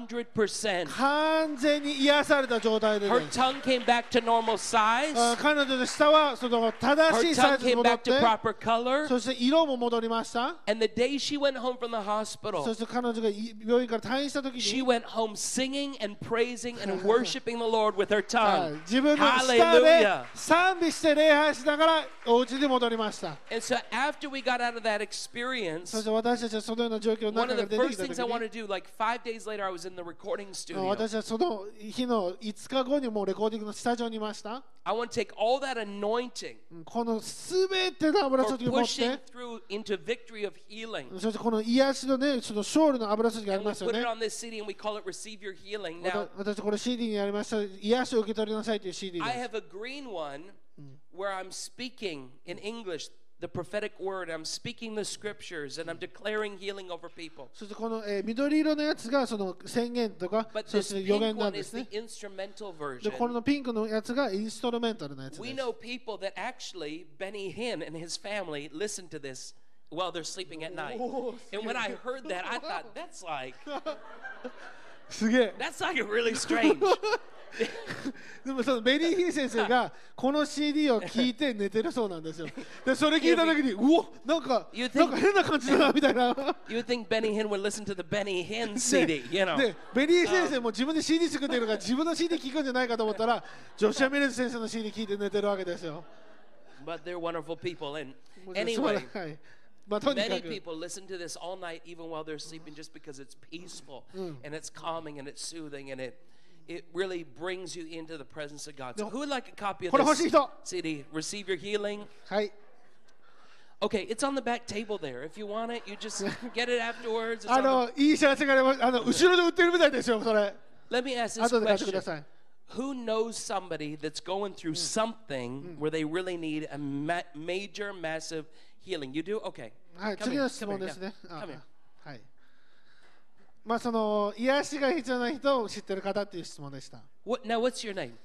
100%. 完全に癒された状態でね、 Her tongue came back to normal size. 彼女の舌はその正 Her しいサイ tongue ズに came 戻っ back て、 to proper color. そして色も戻りました。 And the day she went home from the そ hospital, して彼女が病院から退院した時 she に、 went home singing and praising and worshiping the Lord with her はい tongue. 自分の舌で Hallelujah. 賛美して礼拝しながらお家に戻りました。 And so after we got out of that そ experience, して私たちはそのような状況の one 中 of か the ら出て first きた things I 時 want to に、 do, like 5 days later, I was in the recording studio. 私はその日の5日後にもうレコーディングのスタジオにいました。 I want to take all that anointing このすべての油 for 注ぎを持っ pushing て、 through into victory of healing. そしてこの癒しのね、その勝利の油注ぎがあり And we ますよ put ね it。on this CD and we call it Receive Your Healing. Now, 私これ CD にありました癒しを受け取りなさいという CD で I す。 have a green one where I'm speaking in English the prophetic word. I'm speaking the scriptures and I'm declaring healing over people. そしてこの、緑色のやつがその宣言とか、 But そ this して予 pink 言なん one で is すね the。instrumental で、こ version. のピンクのやつがインストルメンタルのやつで We す。 know people that actually Benny Hinn and his family listen to this while they're sleeping at night. Oh, And when I heard that, I thought that's like すげえ。 really strange. でもそのベリーヒー先生がこの CD を聞いて寝てるそうなんですよ。で、それ聞いた時に、うお、なんか You think- なんか変な感じだなみたいな。 You would think Benny Hinn would listen to the Benny Hinn CD, you know. で、ベリー先生も自分で CD 作ってるから自分の CD 聞くんじゃないかと思ったら、ジョシュア・ミレズ先生の CD 聞いて寝てるわけですよ。 But they're wonderful people. And もう素晴 anyway, らはい。まあとにか many く。 people listen to this all night, even while they're sleeping, just because it's peaceful and it's calming and it's soothing and it really brings you into the presence of God. So who would like a copy of これ欲しい this 人。 CD? Receive Your Healing. はい。 Okay, it's on the back table there. If you want it, you just get it afterwards. It's あ on the- のいい知らせがあります。後ろで売ってるみたいですよ、それ。 Let me ask this 後で買ってくだ question. さい。 Who knows somebody that's going through something where they really need a major, massive healing? You do? Okay. はい、 Come 次 here. の質 Come 問 here. ですね。 Yeah. あ Come here. はい。まあその癒しが必要な人を知ってる方っていう質問でした。 Now, what's your name?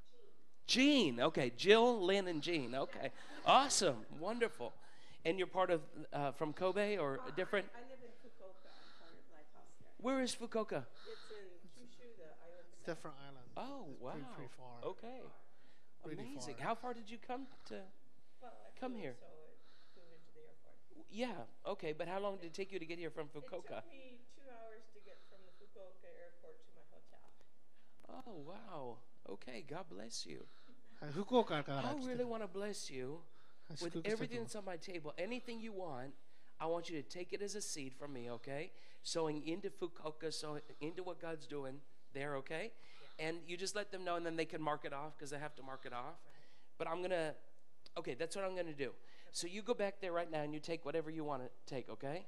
Jean. Okay, Jill, Lynn, and Jean. Okay, awesome, wonderful. And you're part of from Kobe or a different? I live in Fukuoka, part of Lighthouse there. Where is Fukuoka? It's in Kyushu, the island. Different island. Oh, wow. Pretty far. Okay, Really amazing. far. How far did you come to? Well, I Come flew, here. So I flew into the airport. Yeah. Okay, but how long did it take you to get here from It Fukuoka? took me 2 hours to get from the Fukuoka airport to my hotel. Oh, wow. Okay, God bless you. はい、福岡から I 来て really る。 want to bless you はい、 with 祝福したいと everything 思います that's on my table. Anything you want, I want you to take it as a seed from me, okay? Sowing into Fukuoka, sowing into what God's doing there, okay? And you just let them know, and then they can mark it off because they have to mark it off. But I'm going to, okay, that's what I'm going to do. So you go back there right now and you take whatever you want to take, okay?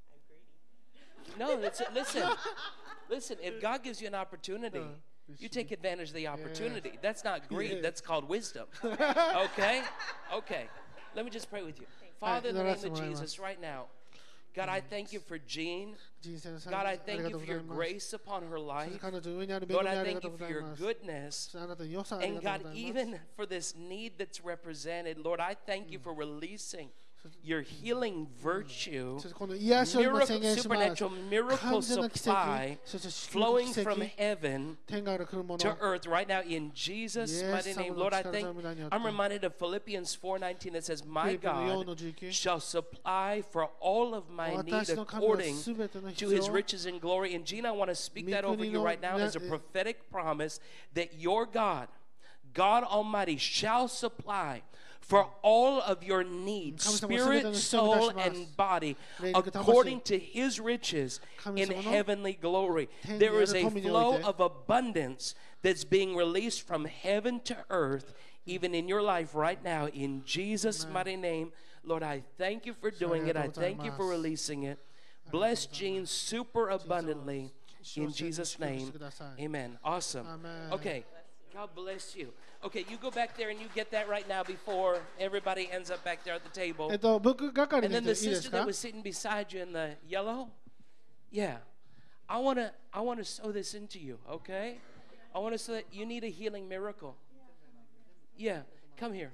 No, that's it. Listen, if God gives you an opportunity, you take advantage of the opportunity. That's not greed, that's called wisdom. Okay? Okay. Let me just pray with you. Father, in the name of Jesus, right now, God, I thank you for Jean. 人生の最 God, 後 I あり thank が you とう for ござい your ます。 grace upon her そ life. して彼女の上にある恵 Lord, み I ありが thank と you うご for ざい your ます。 goodness. そしてあなたの良さあり And がとう God, ございます。 even for this need that's represented, Lord, I thank you for releasing your healing virtue, そしてこの癒しを今 miracle, 宣言します。 supernatural miracle 完全な奇 supply 跡、そして祝福 flowing 奇 from 跡、 heaven 天から来るもの。 to earth right now in Jesus' mighty name. Lord, I thank I'm reminded of Philippians 4:19 that says, My フィリピンの4 God の19 shall supply for all of my need 私の神は according すべての to 必 his 要 riches and glory. And Gina, I want to speak that over you right now as a prophetic promise that your God, God Almighty, shall supply for all of your needs, spirit, soul, and body, according to his riches in heavenly glory. There is a flow of abundance that's being released from heaven to earth, even in your life right now, in Jesus' mighty name. Lord, I thank you for doing it. I thank you for releasing it. Bless Jean super abundantly in Jesus' name. Amen. Awesome. Okay. God bless you. Okay, you go back there and you get that right now before everybody ends up back there at the table. 僕係 And の then 人い the いで sister すか that was sitting beside you in the yellow, yeah, I wanna sow this into you, okay? I want to sow that you need a healing miracle. Yeah, come here.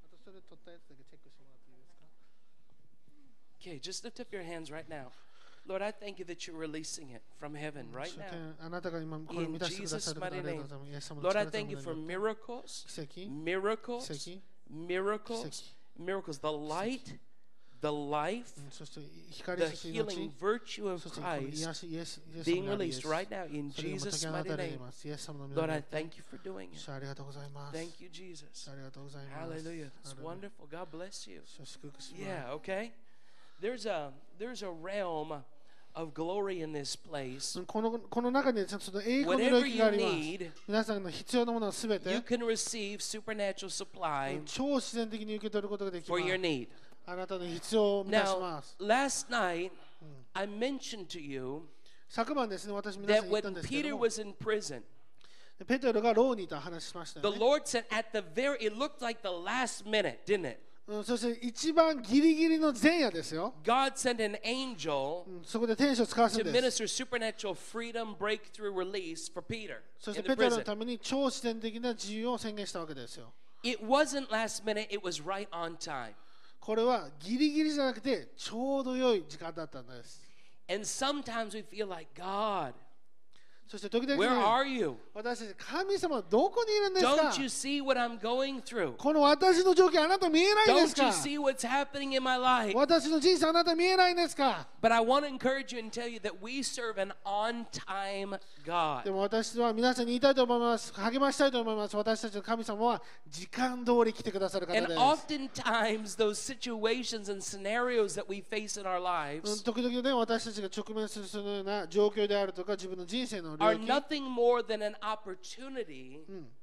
Okay, just lift up your hands right now. Lord, I thank you that you're releasing it from heaven right 主 now. 権あなたが今これを In 満たしてくださ Jesus' ることあ mighty りがとう name. ございます。イエス様の Lord, 力 I と thank you な for り miracles, 奇跡 miracles, 奇跡 miracles, miracles. The light, the life, そして光 the そして healing 命 virtue of そしてこの Christ 癒しイエス being 様のあるイエ released ス right now in それが今解 Jesus' き放 mighty たれてい name. ますイエス様の皆 Lord, によ I って thank you for doing it. 主ありがとうございます Thank you, Jesus. 主ありがとうございます Hallelujah. It's ハレルヤ wonderful. God bless you. 主を祝福します Yeah, okay. There's a realm of glory in this place. この中にちょっと栄光の領 Whatever 域 you があります need, 皆さんの必要なものはすべ you て can receive supernatural supply 超自然的に受け取ることができま for your す need. あなたの必要を満たし Now, ます last night, I mentioned to you 昨晩ですね私皆さ that んに言ったん when ですけ Peter ども was in prison, ペテロが牢にいた話しました the よね Lord said at the it looked like the last minute, didn't it? そして一番ギリギリの前夜ですよ God sent an angel そこで天使を使わす to んです minister supernatural freedom, breakthrough, release for Peter そし in て the ペテロの prison. ために超自然的な自由を宣言したわけですよ It wasn't last minute, it was right on time. これはギリギリじゃなくてちょうど良い時間だったんです And sometimes we feel like, God, そして時々 where ね are you? 私たち神様はどこにいるんですか Don't you see what I'm going through? この私の状況あなた見えないんです Don't you か see what's happening in my life? 私の人生あなた見えないんですか But I want to encourage you and tell you that we serve an on-time で God. も私は皆さんに言いたいと思います励ましたいと思います私たちの神様は時間通り来てくださる方 And です oftentimes, those situations and scenarios that we face in our lives 時々ね私たちが直面するそのような状況であるとか自分の人生の領 are 域 nothing more than an opportunity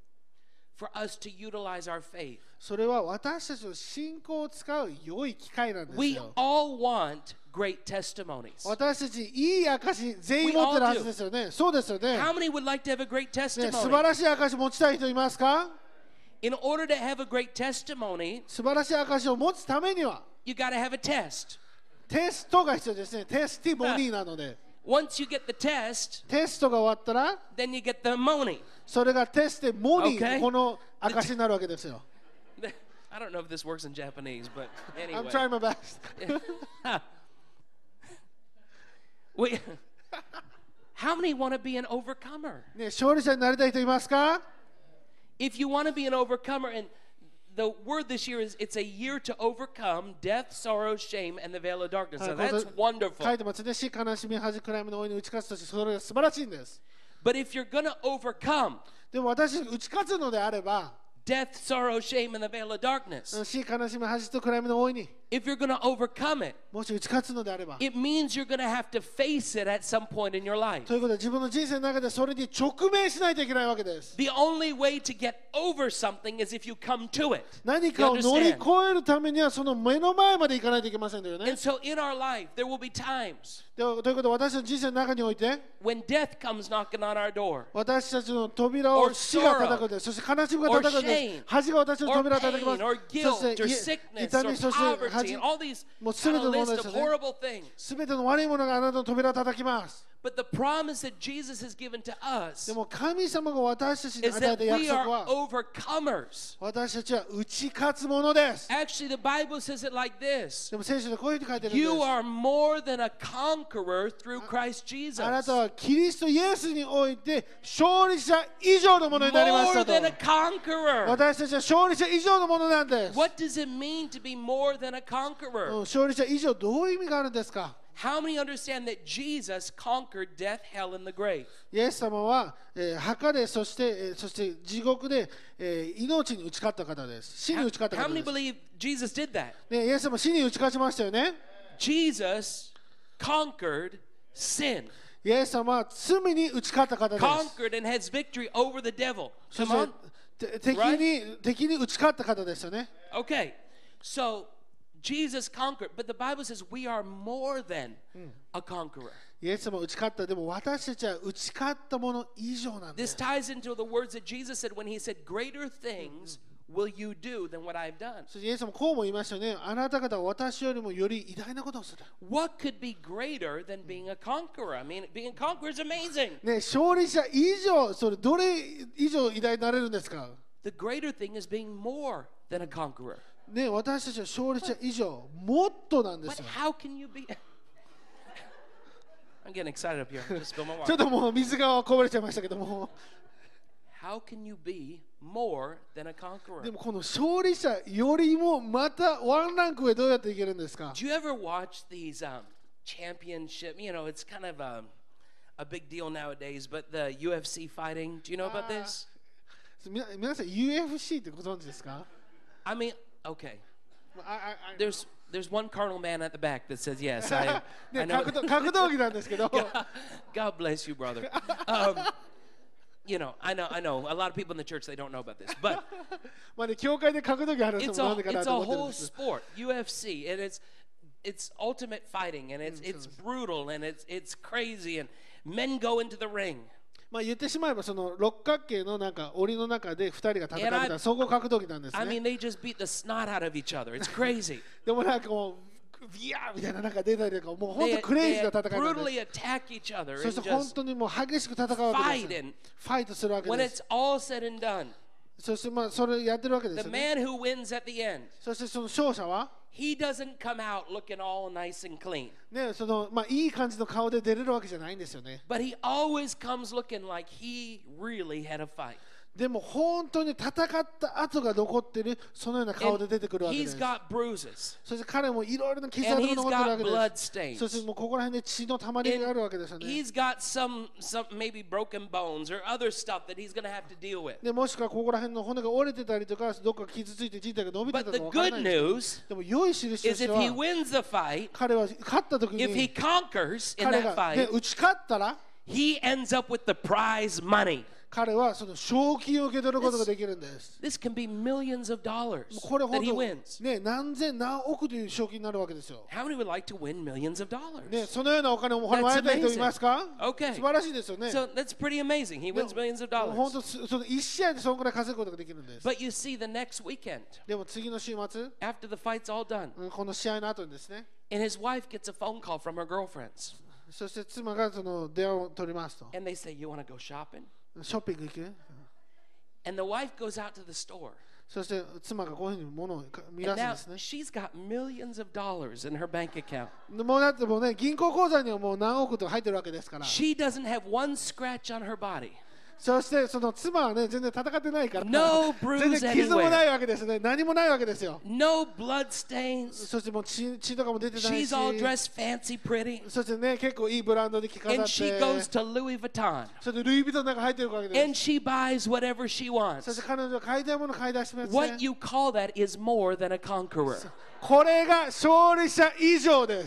for us to utilize our faith. それは私たちの信仰を使う良い機会なんです We よ all want great testimonies. 私たちいい証全員持ってるはずですよねそうですよね How many would like to have a great ね素晴 testimony? らしい証持ちたい人いますか In order to have a great testimony, 素晴らしい証を持つためには you got to have a test. テストが必要ですねテスティモニーなので Once you get the test, テストが終わったら then you get the money. それがテステモニー Okay. この証になるわけですよ I don't know if this works in Japanese, but I'm anyway. trying my best We, how many want to be an overcomer? ね勝利者になりたい人いますか If you want to be an overcomer, and the word this year is it's a year to overcome death, sorrow, shame, and the veil of darkness. はい So これ that's 書 wonderful. いてますね死悲しみ恥暗闇の大いに打ち勝つとしてそれが素晴らしいんです But if you're going to overcome でも私打ち勝つのであれば death, sorrow, shame, and the veil of darkness, 死悲しみ恥と暗闇の大いに if you're going to overcome it, もし打ち勝つのであれば it means you're going to have to face it at some point in your life. ということで自分の人生の中でそれに直面しないといけないわけです。 The only way to get over something is if you come to it. 何かを乗り越えるためにはその目の前まで行かないといけませんよね。 And so in our life, there will be times でということで私たちの人生の中において when death comes knocking on our door. 私たちの扉を死が叩くんです。そして悲しみが叩くんです。恥が私の Or 扉を叩きま pain, す。 or そ guilt, して or sickness, 痛 or み、そして poverty, 恥 and all these もう全て kind の of もの list です of よね。 horrible things. すべての悪いものがあなたの扉を叩きます。 But the promise that Jesus has given to us でも神様が私たちに is 与え that た約 we 束 are は overcomers. 私たちは打ち勝つものです。 Actually, the Bible says it like this. でも聖書でこういうふうに書いてるんで You す。 are more than a conqueror through Christ Jesus. あなたはキリストイエスにおいて勝利者以上のものになりまし More たと。 than a conqueror. 私たちは勝利者以上のものなんです。 What does it mean to be more than a うん conqueror? 勝利者以上どういう意味があるんですか。 How many understand that Jesus conquered death, hell, and the grave? イエス様は、墓でそして地獄で、命に打ち勝った方です。死に打ち勝った How 方 many です。 believe Jesus did that? ね、イエス様死に打ち勝ちましたよね。 Jesus conquered sin, イエス様は罪に打ち勝った方です。 conquered and has victory over the devil. そ Come し on. て敵に打ち勝った方ですよね。 Okay, so Jesus conquered, but the Bible says we are more than a conqueror. イエス様は打ち勝った。でも私たちは打ち勝ったもの以上なんで This す。 ties into the words that Jesus said when he said, Greater things will you do than what I've done. そしてイエス様こうも言いましたよね。あなた方は私よりもより偉大なことをする。 What could be greater than being a conqueror? I mean, being a conqueror is amazing. ね、勝利者以上、それどれ以上偉大になれるんですか。 The greater thing is being more than a conqueror. ね、私たちは勝利者以上、もっとなんで But すよ。 how can you be? I'm getting excited up here. Just spill my ちょ water. っともう水がこぼれちゃいましたけども、 How can you be more than a conqueror? でもこの勝利者よりもまたワンランク上どうやっていけるんですか。 Do you ever watch these championship? You know, it's kind of a big deal nowadays, but the UFC fighting. Do you know about this? 皆さん UFC ってご存知ですか。 I mean, okay. あ There's one carnal man at the back that says yes. I ね、 know. 格闘技なんですけど、 God bless you, brother. You know, I know. A lot of people in the church, they don't know about this, but まあね、教会で格闘技ある人 it's もな a んでかな it's と a 思ってるん whole です。 sport, UFC, and it's ultimate fighting, and it's brutal, and it's crazy, and men go into the ring. まあ言ってしまえばその六角形のなんか檻の中で2人が戦うみたい And な総合格闘技なんです I ね。 mean, they just beat the snot out of each other. It's crazy. でもなんかもうビヤーみたいななんか出たりとかもう本 They, 当クレイ they ジーな戦いなんです。 brutally attack each other そ and して本 just 当にもう激しく戦うわけ fight. です。 And ファイトするわけ when です it's。all said and done, そしてまあそれやってるわけです the よね。 man who wins at the end, そしてその勝者は he doesn't come out looking all nice and clean. ね、そのまあいい感じの顔で出れるわけじゃないんですよね。 But he always comes looking like he really had a fight. でも本当に戦った跡が残ってるそのような顔で And 出てくるわけで he's す。 got bruises. そして彼もいろいろな傷 And 跡 he's が残ってるわ got け blood です。 stains. そしてもうここら辺で血のたまりがあるわけですよね。 He's got some maybe broken bones or other stuff that he's going to have to deal with. でもしくはここら辺の骨が折れてたりとかどっか傷ついて人体が伸びて But た the かわからな good いんですけど news でも良い印と is して if he は wins the fight, 彼は勝った時 if he に conquers in 彼 that が、ね、 fight, 打ち勝ったら he ends up with the prize money. 彼はその賞金を受け取ることができるんです。 This can be millions of dollars これ that 本 he 当 wins. ね何千何億という賞金になるわけですよ。 How many would like to win millions of ね dollars? そのようなお金をもらいたい人いますか？ Okay. 素晴らしいですよね。 So that's pretty amazing. He wins millions of 本 dollars. 当その一試合でそのくらい稼ぐことができるんです。 But you see, the next weekend, でも次の週末、 after the fight's all done, この試合の後にですね、 and his wife gets a phone call from her girlfriends, そして妻がその電話を取りますと、 and they say, "You want to go shopping?" ショッピング行く？ And the wife goes out to the store, そして妻がこういうふうに物を見出 and すん now ですね。 she's got millions of dollars in her bank account. もうだってもうね銀行口座にはもう何億とか入ってるわけですから、 She doesn't have one scratch on her body. そしてその妻はね全然戦ってないから No bruise 全然傷も anywhere. ないわけですね。何もないわけですよ。 No blood stains. そしてもう血とかも出てない She's し all dressed fancy, pretty. そしてね結構いいブランドで着飾 And っ she て goes to Louis Vuitton. そしてルイ・ヴィトンの中入ってるわけです And she buys whatever she そして wants. 彼女は買いたいもの買い出しますね What you call that is more than a conqueror. これが勝利者以上です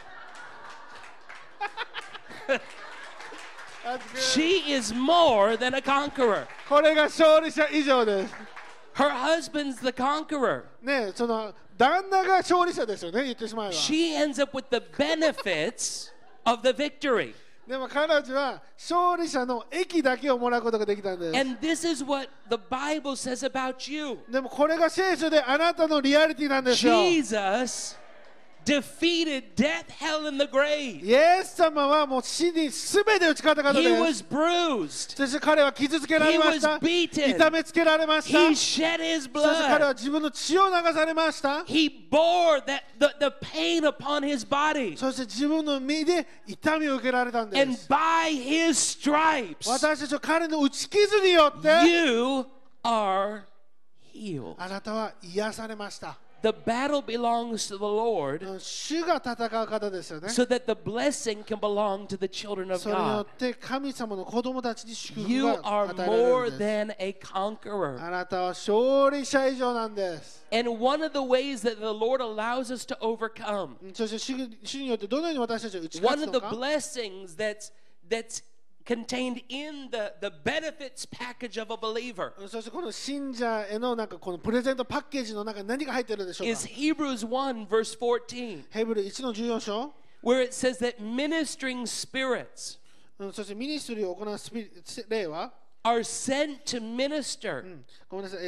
That's good. She is more than a conqueror. これが勝利者以上です Her husband's the conqueror. ねその旦那が勝利者ですよね言ってしまえば She ends up with the benefits of the victory. でも彼女は勝利者の益だけをもらうことができたんです And this is what the Bible says about you. でもこれが聖書であなたのリアリティなんですよ Jesus defeated death, hell, and the grave. イエス様はもう死に全て打ち勝った方 He です was bruised. そして彼は傷つけられました He was beaten. 痛めつけられました He shed his そして彼 blood. は自分の血を流されました He bore the pain upon his body. そして自分の身で痛みを受けられたんで And す by his stripes, 私たちは彼の打ち傷によって you are healed. あなたは癒されました The battle belongs to the Lord 主が戦う方ですよね so that the blessing can belong to the children of それによ God. って神様の子供たちに祝福 You が are 与えられ more るんです than a conqueror. あなたは勝利者以上なんです And one of the ways that the Lord allows us to overcome, そして主によってどのように私たちは打ち one 勝つ of の the か blessings that's contained in the benefits package of a believer そしてこの信者へのなんかこのプレゼントパッケージの中に何が入っているでしょう is か Hebrews 1 verse 14, ヘブル1の14章 where it says that ministering spirits そしてミニストリーを行う例は are sent to minister, ごめんなさい、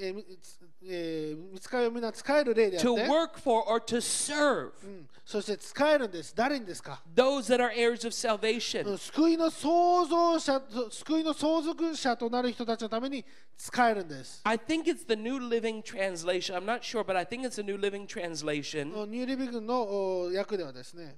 見つかりをみんな使える例であって to work for or to serve そして使えるんです誰にですか those that are heirs of salvation. 救いの創造者救いの相続者となる人たちのために使えるんです I think it's the New Living Translation. I'm not sure, but I think it's the New Living Translation. ニューリビングの訳ではですね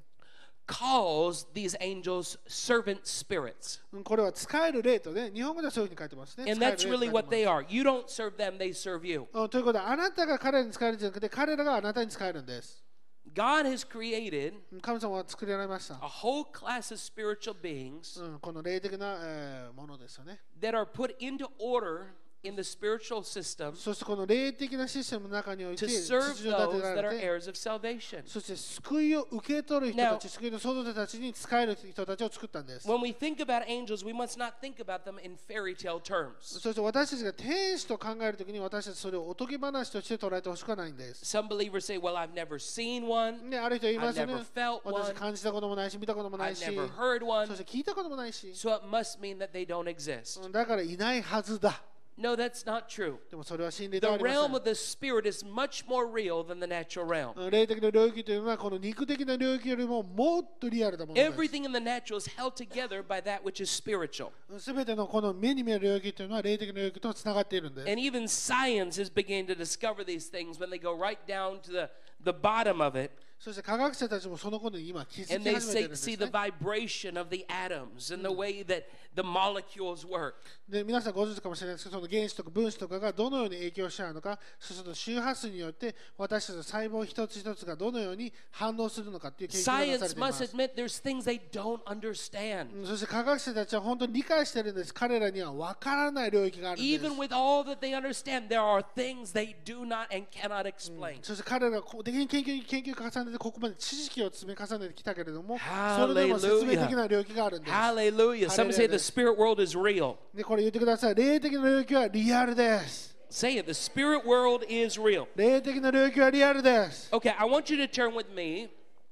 Calls these angels servant spirits. これは使える例とね日本語ではそういうふうに書いてますね And 使える that's 例と書い really て what ます they are. You don't serve them, they serve you. ということであなたが彼らに使えるんじゃなくて彼らがあなたに使えるんです God has created 神様は作られました、 a whole class of spiritual beings この霊的な、ものですよね that are put into order in the spiritual system そしてこの霊的なシステムの中において to 秩 serve 序立て those ら that are れて heirs of salvation. そして救いを受け取る人たち Now- 救いの創造者たちに使える人たちを作ったんです When we think about angels, we must not think about them in fairy tale terms. そして私たちが天使と考えるときに私たちそれをおとぎ話として捉えてほしくはないんです Some believers say, well, I've never seen one, ね、ある人言いますよね I've never felt one. 私感じたこともないし見たこともない I've し never heard one, そして聞いたこともないし so it must mean that they don't exist. だからいないはずだ No, that's not true. でもそれは真理では The ありま realm せ of the spirit is much more real than the natural realm. ん霊的な領域というのはこの肉的な領域よりももっとリアルなものです Everything in the natural is held together by that which is spiritual. すべてのこの目に見える領域というのは霊的な領域とつながっているんです And even science is beginning to discover these things when they go right down to the bottom of it. そして科学者たちもそのことに今気づ And き they 始めているんです see the ね vibration of the atoms and the way that the molecules work. で皆さんご存知かもしれないですけどその原子とか分子とかがどのように影響し合うのかそうすると周波数によって私たちの細胞一つ一つがどのように反応するのかっていう研究がなされ Science ていま must す admit there's things they don't understand. そして科学者たちは本当に理解しているんです彼らには分からない領域があるんです Even with all that they understand, there are things they do not and cannot explain. そして彼らができる研究を重ねてここまで知識を積み重ねてきたけれども Hallelujah. それでも説明できない領域があるんです Hallelujah. Some say the spirit world is real. でこれ言ってください霊的な領域はリアルです Say it. The spirit world is real. 霊的な領域はリアルです Okay, I want you to turn with me.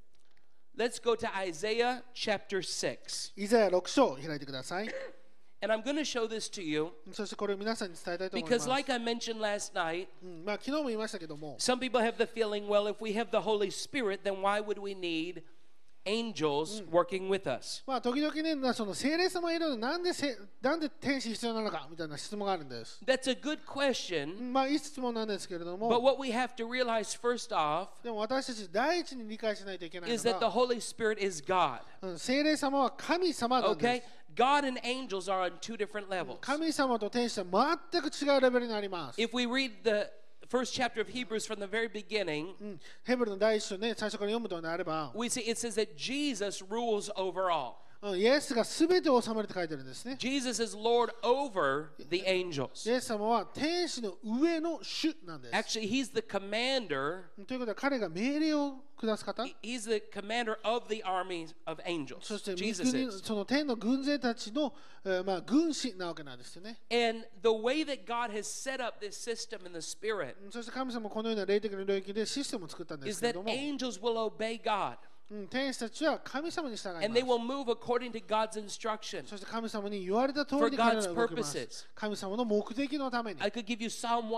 Let's go to Isaiah chapter 6. イザヤ6章を開いてください And I'm going to show this to you そしてこれを皆さんに伝えたいと思いま because, す like I mentioned last night, まあ昨日も言いましたけども some people have the feeling, well, if we have the Holy Spirit, then why would we need angels working with us? まあ時々ねその聖霊様がいるのになんで天使必要なのかみたいな質問があるんです That's a good question, まあいい質問なんですけれど but も what we have to realize first off でも私たち第一に理解しないといけない is の that the が Holy Spirit is God. 聖霊様は神様なんで Okay? す God and angels are on two different levels. 神様と天使は全く違うレベルになります。 If we read the first chapter of Hebrews from the very beginning, ヘブルの第一章ね、最初から読むのであれば、 we see it says that Jesus rules over all. イエスが全てを治めるって書いてるんですね。 Jesus is Lord over the angels. イエス様は天使の上の主なんです。 Actually, he's the commander. ということは彼が命令を下す方、 He's the commander of the armies of angels. そして御 Jesus 国 is. その天の軍勢たちの、軍師なわけなんですよね。 And the way that God has set up this system in the spirit そして神様もこのような霊的な領域でシステムを作ったんで is すけれ that ども、 angels will obey God 天使たちは神様に従い and ま they す。 will move according to God's instruction. そして神様に言われた通 For りに彼ら God's は動きます purposes. 神様の目的のために。 I could give you Psalm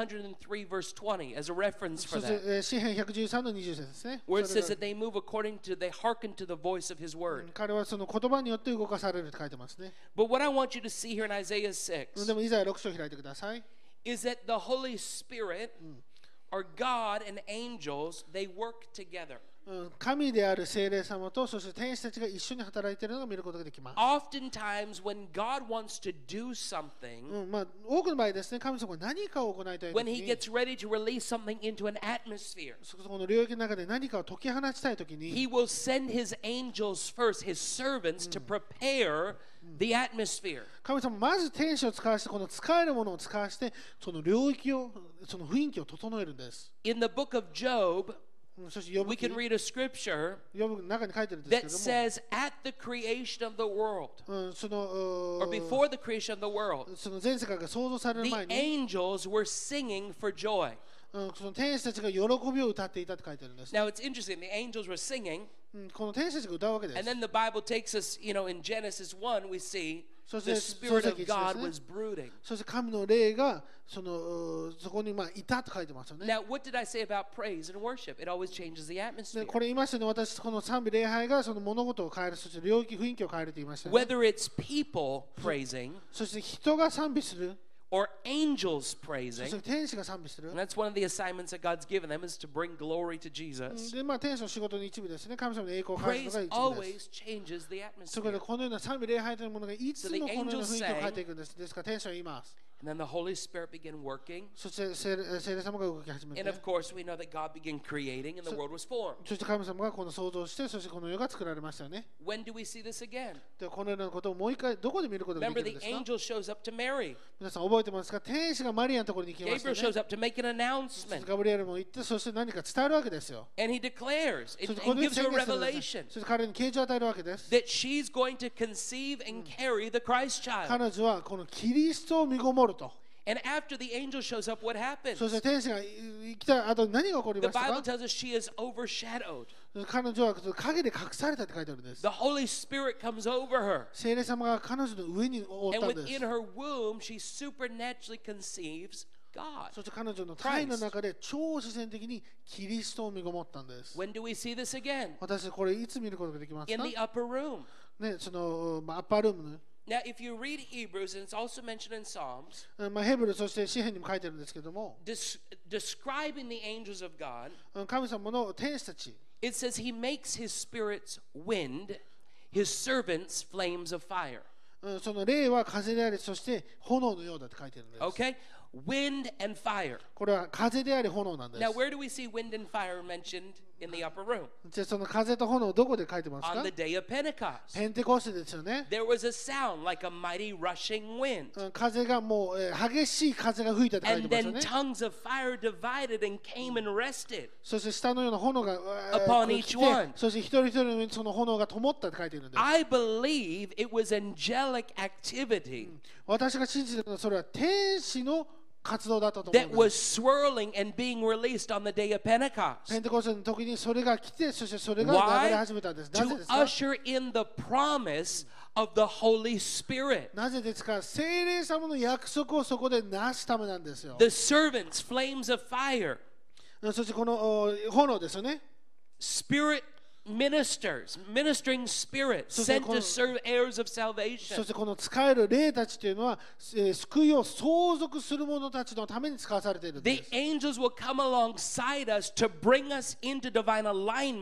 103 verse 20 as a reference そ for して that, 詩編113の20節ですね。 where it それ says が that they move according to, they hearken to the voice of His word. 彼はその言葉によって動かされるって書いてますね。 But what I want you to see here in Isaiah 6 でもイザヤ6章開いてください。 is that the Holy Spirit or God and angels, they work together. 神である聖霊様とそして天使たちが一緒に働いているのが見ることができます。 Oftentimes, when God wants to do something, 多くの場合ですね、神様が何かを行いたいと when き He に、 gets ready to release something into an atmosphere, そこの領域の中で何かを解き放ちたいときに、 He will send His angels first, His servants, to prepare the atmosphere. 神様まず天使を使わしてこの使えるものを使わしてその領域をその雰囲気を整えるんです。 In the book of Job, そして呼ぶ we can read a scripture の中に書いてるんですけ that ども、 says, at the creation of the world, その or before the creation of the world, その全世界が創造される the 前に、 angels were singing for joy. その天使たちが喜びを歌っていたって書いてるんです。 Now it's interesting, the angels were singing, この天使たちが歌うわけです。 and then the Bible takes us, in Genesis 1, we see So the it's- Spirit so of it's- God it's- was brooding. そして神の霊がそこにいたと書いてますよね。 Now, what did I say about praise and worship? It always changes the で atmosphere. これ言いましたね、私、この賛美礼拝がその物事を変える、そして領域、雰囲気を変えると言いましたね。 Whether it's people praising そして人が賛美する、 or angels そ praising, して天使が賛美する and。that's one of the assignments that God's given them is to bring glory to Jesus. で、天使の仕事の一部ですね。神様の栄光を返す Praise のが一部です。 always changes the そこで atmosphere. このような賛美礼拝というものがいつもこのような雰囲気を変えていくんです。ですから天使は言います。 And then the Holy Spirit began working. そして聖霊様が動き始め And て of、course, we know that God began creating and the world was formed. そして神様がこの創造して、そしてこの世が作られましたよね。 When do we see this again? で、このようなことをもう一回どこで見ることが Remember, できるん the ですか？ angel shows up to Mary. 皆さん覚えてますか？天使がマリアのところに行きました Gabriel よ shows ね。 up to make an announcement. ガブリエルも行って、そして何か伝えるわけですよ。 And he declares, そ it, してこ and のように gives 宣 her a 言するんです revelation そして彼に啓示を与えるわけです。 that she's going to conceive and carry the Christ child. 彼女はこのキリストを身ごもると。 And after the angel shows up, what happens? そして天使が来た後に何が起こり The ました Bible か？ tells us she is overshadowed. 彼女は影で隠されたって書いてあるんです。 The Holy Spirit comes over her. 聖霊様が彼女の上に覆っ And たんです within。her womb, she supernaturally conceives God. そして彼女の体の中で超自然的にキリストを身ごもったんです。 When do we see this again? 私これいつ見ることができます In か？ the upper room. ね、そのアッパールーム Now, if you read Hebrews, and it's also mentioned in Psalms, の、ヘブルそして詩篇にも書いてるんですけども、 describing the angels of God, 神様の天使たち、 it says he makes his spirits wind, his servants flames of fire. その霊は風であり、そして炎のようだって書いてるんです。 Okay? Wind and fire. これは風であり炎なんです。 Now, where do we see wind and fire mentioned in the upper room? じゃあその風と炎どこで書いてますか？ On the day of Pentecost. ペンテコステですよね。 There was a sound like a mighty rushing wind. 風がもう、激しい風が吹いたって書い And てますよ then ね。 tongues of fire divided and came and rested. そして下のような炎が Upon 来 each て one. そして一人一人の上にその炎が灯ったって書いてるんです。 I believe it was angelic activity 私が信じているのはそれは天使の活動だったと思 that うん was です。 swirling and being released on the day of ペ Pentecost. ンテコステの時にそれが来て、そしてそれが流れ Why? 始めたんです。なぜ To ですか？ usher in the promise of the Holy Spirit. なぜですか？聖霊様の約束をそこでなすためなんですよ。 The servants, flames of fire, そしてこの炎ですよね。 spirit ministers, ministering spirits sent to serve heirs of そ salvation. してこの使える霊たちというのは、救いを相続する者たちのために使わされているんで The す。 angels will come alongside us to bring us into divine alignment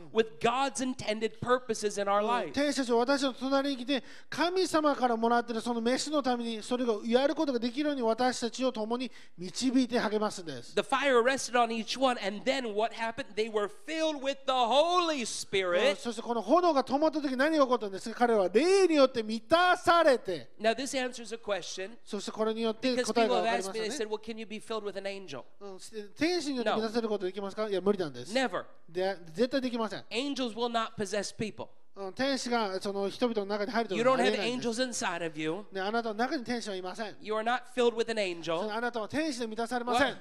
with God's intended purposes in our life. 天使たちは私の隣に来て、神様からもらっているその飯のためにそれをやることができるように私たちを共に導いて励ますんです。 The fire rested on each one, and then what happened? They were filled with the Holy Spirit. そしてこの炎が灯った時何が起こったんですか？彼らは霊によって満たされて、 Now, this answers a question そしてこれによって because 答え people が have 分かり asked ま me, they すよ said, ね。 well, can you be filled with an angel? 天使によって満たせることできますか？いや、無理なんです。 Never. 絶対できません。 Angels will not possess people. 天使がその人々の中に入ると You いうの don't はあり have えないんです。 angels inside of you. ね、あなたの中に天使はいません。 You are not filled with an そ angel. のあなたは天使で満たされません。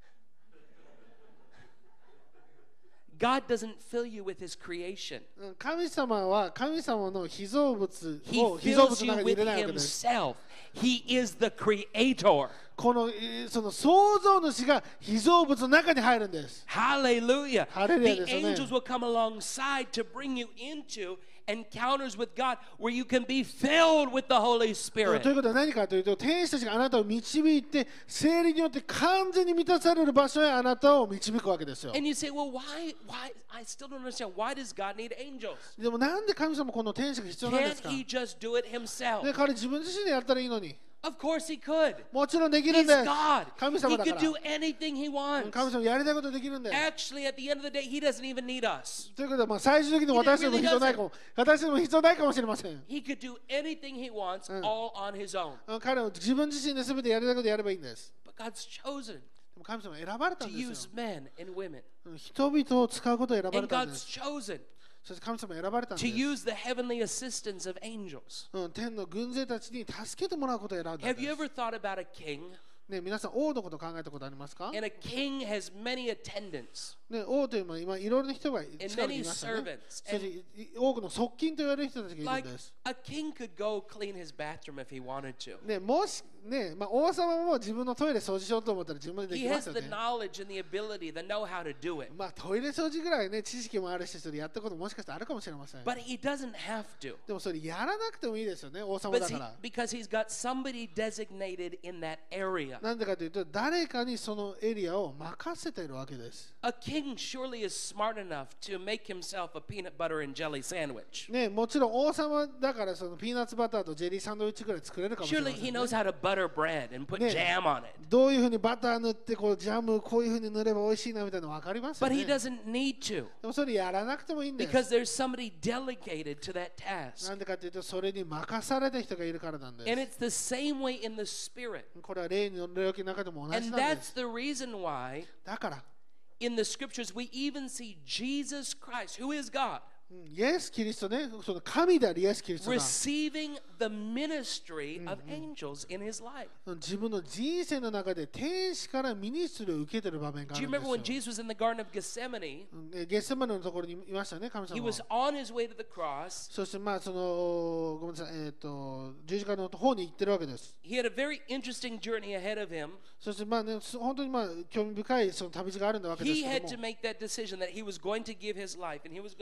God doesn't fill you with his creation. 神様は神様の被造物 He を被造 fills 物の you 中に入 with れないわけです。 himself. He is the creator. このその創造主が被造物の中に入るんです。 Hallelujah. Hallelujah The ですね。 angels will come alongside to bring you into encounters with God where you can be filled with the Holy という Spirit. ことは何かというと、天使たちがあなたを導いて、聖霊によって完全に満たされる場所へあなたを導くわけですよ。 And you say, well, why? I still don't understand. Why does God need angels? でもなんで神様この天使が必要なんで Can't すか？ he just do it himself? で、彼自分自身でやったらいいのに。 Of course he could. もちろんできるん He's です。 God. 神 He 様だか could ら。 do anything he wants. 神様やりたいことできるんです。 Actually, at the end of the day, he doesn't even need us. ということで、まあ、最終的に私でも必要ないかも、私でも必要ないかもしれません。 He could do anything he wants all on his own. 彼は自分自身で全てやりたいことやればいいんです。 But God's chosen でも神様は選ばれた to んです use よ。 men and women. 人々を使うことを選ば And れたんで God's す。 chosen そして神様は選ばれたん to です use the heavenly assistance of angels. 天の軍勢たちに助けてもらうことを選んだん Have you です。 ever thought about a king? ね、皆さん、王のことを考えたことありますか？ And a king has many attendants ね、王というのは今いろいろな人が and 近くにい many ましたね。 servants. そして多くの側近と言われる人たちがい Like るんです。 a king could go clean his bathroom if he wanted to. ね、もしね、まあ、王様も自分のトイレ掃除しようと思ったら自分でで He きま has すよ the ね。 knowledge and the ability, the know-how to do it. まあトイレ掃除ぐらいね、知識もあるし、それやったこともしかしたらあるかもしれません。 But he doesn't have to. でもそれやらなくてもいいですよね、王様 But だから because he's got somebody designated in that area. なんでかというと、誰かにそのエリアを任せているわけです。 A king surely is smart enough to make himself a peanut butter and jelly sandwich. ね、もちろん王様だからそのピーナッツバターとジェリーサンドイッチぐらい作れるかもしれま Surely せ he ん、ね。 knows how to butter bread and put Yeah. jam on it. どういうふうにバター塗ってこうジャムこういうふうに塗れば美味しいなみたいなの分かりますよ But ね。 he doesn't need to でもそれやらなくてもいいんです。 because there's somebody delegated to that task. なんでかというと、それに任された人がいるからなんで And す。 it's the same way in the spirit. これは霊の領域の中でも同じ And なんで that's す。 the reason why だから、 in the scriptures we even see Jesus Christ, who is God, イエス・キリストね、その神であるイエス・キリストが receiving the ministry of angels in his life. 自分の人生の中で天使からミニストリーを受けている場面があ Do る you ん remember when ですよ。 Jesus was in the Garden of Gethsemane? ゲッセマネのところにいましたね、神 He 様 was は。 on his way to the cross. そしてまあそのごめんなさい、十字架の方に行ってるわけです。 He had a very interesting journey ahead of him. そしてまあね、本当にまあ興味深いその旅路があるわけです He け had ど to も、 make that decision that he was going to give his life and he was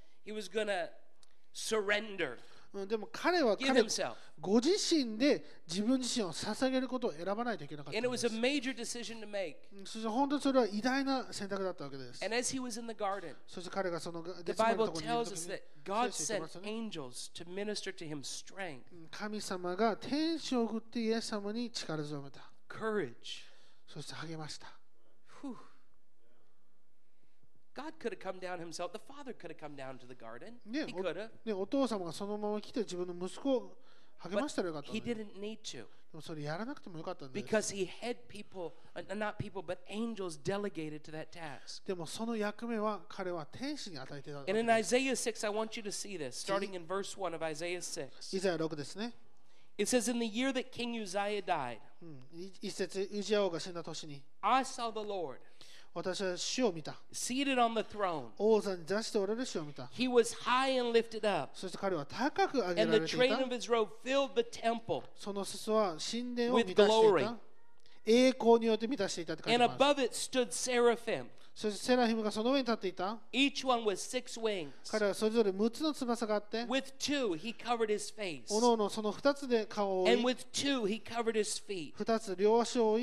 gonna surrender, でも彼は give 彼 himself. ご自身で自分自身を捧げることを選ばないといけなかった And ん it で was す a。major decision to make. そして本当にそれは偉大な選択だったわけです。 And as he was in the garden, そして彼がその the ゲッセマネの Bible ところにいる tells 時 us に that God 聖書に言 sent ってますよね。 angels to minister to him strength, 神様が天使を送ってイエス様に力強めた。 courage. そして励ました。 Whew. God could have come down himself. The Father could have come down to the garden. ね He could have. お父様がそのまま来て自分の息子を励ましたらよかった He のに。で didn't need to もそれやらなくてもよかったんです。 because he had people, not people, but angels delegated to that task. でもその役目は彼は天使に与えていたわけ And in です Isaiah 6, I want you to see this, starting in verse 1 of Isaiah 6. イザヤ6ですね。 It says, in the year that King Uzziah died, 一節、ウジヤ王が死んだ年に、 I saw the Lord 私は主を見た。 seated on the throne. 王座に座しておられる主を見た。 He was high and lifted up, そして彼は高く上げ and ら the れてい train た。 of his robe filled the temple. その裾は神殿を with 満たしてい glory. た。栄光によって満たしていたって書い And てます。 above it stood seraphim. そしてセラヒムがその上に立っていた。 Each one with 6 wings. 彼はそれぞれ6つの翼があって、 With 2 he covered his face. おのおのその2つで顔を覆 And い、 with 2 he covered his feet. 2つ両足を覆い、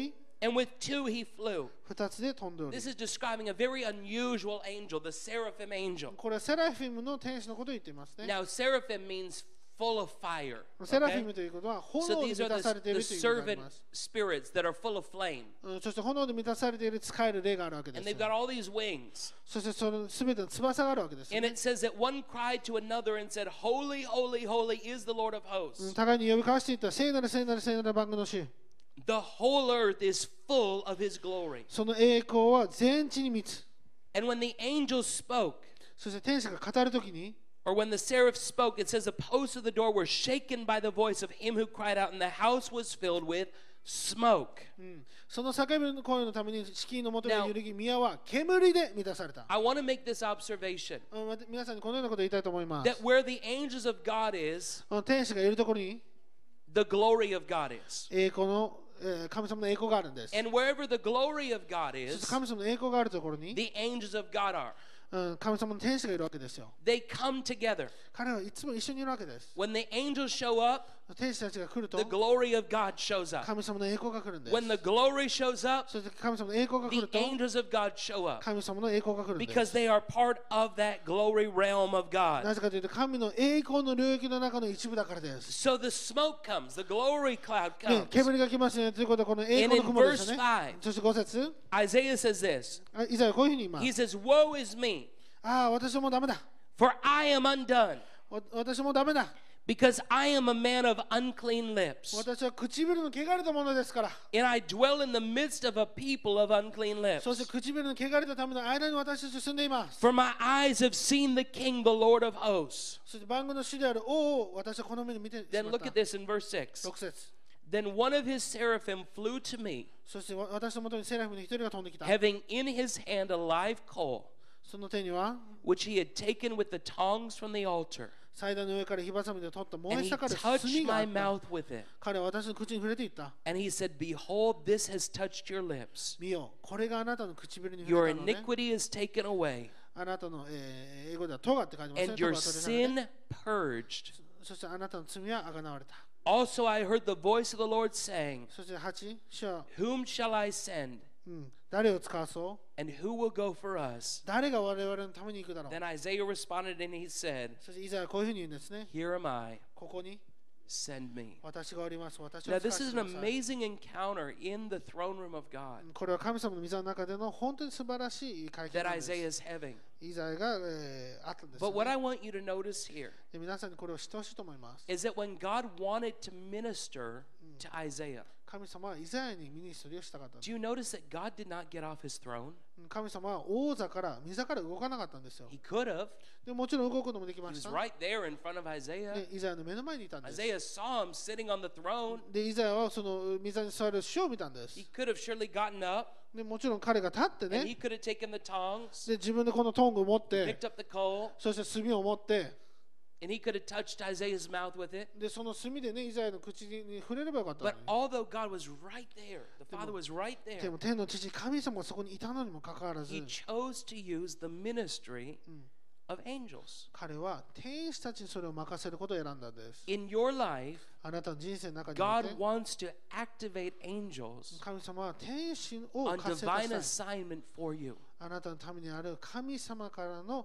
And with two he flew. 2つで飛んでおり This is describing a very unusual angel, the seraphim angel. これはセラフィムの天使のことを言っていますね Now, seraphim means full of fire. セラフィ Okay? ムということは So 炎で these 満 are たされてい the るという意味があり servant ます、 spirits that are full of flame. そして炎で満たされている使える霊があるわけで And す they've got all these wings. そしてその全ての翼があるわけです、 And it says that one cried to another and said, Holy, holy, holy is the Lord of hosts. 互いに呼び交わしていった聖なる聖なる聖なる万軍の主 The whole earth is full of his glory. その栄光は全地に満つ And when the angels spoke, そして天使が語るときに or when the seraph spoke, it says the posts of the door were shaken by the voice of him who cried out, and the house was filled with smoke. その叫びの声のために敷居のもとが揺るぎ宮は煙で満たされた I want to make this observation 皆さんにこのようなことを言いたいと思います that where the angels of God is, 天使がいるところに the glory of God is. 栄光の神様の栄光があるんです And wherever the glory of God そして is, 神様の栄光があるところに the angels of God are. 神様の天使がいるわけですよ They come together. 彼はいつも一緒にいるわけです When the angels show up, 天使たちが来ると the glory of God shows up. 神様の栄光が来るんです When the glory shows up, そして神様の栄光が来 the ると angels of God show up 神様の栄光が来るんです because they are part of that glory realm of な God. ぜかというと神の栄光の領域の中の一部だからです So the smoke comes, the glory cloud ね comes. 煙が来ますねということはこの栄 And 光 in の雲ですよ verse ね 5, そして5節 Isaiah says this. イザヤはこういうふうに言いま He す says, Woe is me, ああ私はもうダメだ for I am undone, 私はもうダメだ because I am a man of unclean lips, 私は唇の汚れたものですから and I dwell in the midst of a people of unclean そして lips. 唇の汚れたための間に私たちは住んでいます For my eyes have seen the King, the Lord of hosts. そして万軍の主である王を私はこの目に見てし Then まっ look た at this in verse 6. 6節 Then one of his seraphim flew to me, そして私のもとにセラフィムの一人が飛んできた having in his hand a live coal, その手には which he had taken with the tongs from the altar. 祭壇の上から火ばさみで取った燃 And え he 盛る touched 炭があ my った mouth with it. 彼は私の口に触れていった And he said, Behold, this has touched your lips. 見よこれがあなたの唇に触 Your れたのね iniquity is taken away, あなたの、英語ではトガって書いてますね and トガ your は取り去られて sin purged. そしてあなたの罪はあがなわれた Also, I heard the voice of the Lord saying, そして8主は、 Whom shall I send? 誰を使わそう And who will go for us? 誰が我々のために行くだろう Then Isaiah responded and he said, そしてイザヤはこういうふうに言うんですね Here am I, ここに send me. 私がおります私を Now, 使わ this せ is て an ください amazing encounter in the throne room of God これは神様の御座の中での本当に素晴らしい会見 that なんです Isaiah is having. イザヤが、あったんです、 But what I ね、 want you to notice here で皆さんにこれを知ってほしいと思います is that when God wanted to minister to Isaiah, 神様はイザヤにミニストリーをしたかったんです do you notice that God did not get off his throne? 神様は王座から御座から動かなかったんですよ He could have. でもちろん動くこともでき He まし was た right there in front of Isaiah. でイザヤの目の前にいたんです Isaiah saw him sitting on the throne. でイザヤはその御座に座る主を見たんです He could have surely gotten up でもちろん彼が立って and he ね could have taken the tongs, で自分でこのトングを持って picked up the coal, そして炭を持って and he could have touched Isaiah's mouth with it. でその炭でねイザヤの口に触れればよかったの But に although God was right there, the Father was right で there, も天の父神様がそこにいたのにもかかわらず he chose to use the ministry of angels. 彼は天使たちにそれを任せることを選んだんです In your life, あなたの人生の中におい God て wants to activate angels 神様は天使を on 活性化 divine したい assignment for you, あなたのためにある神様からの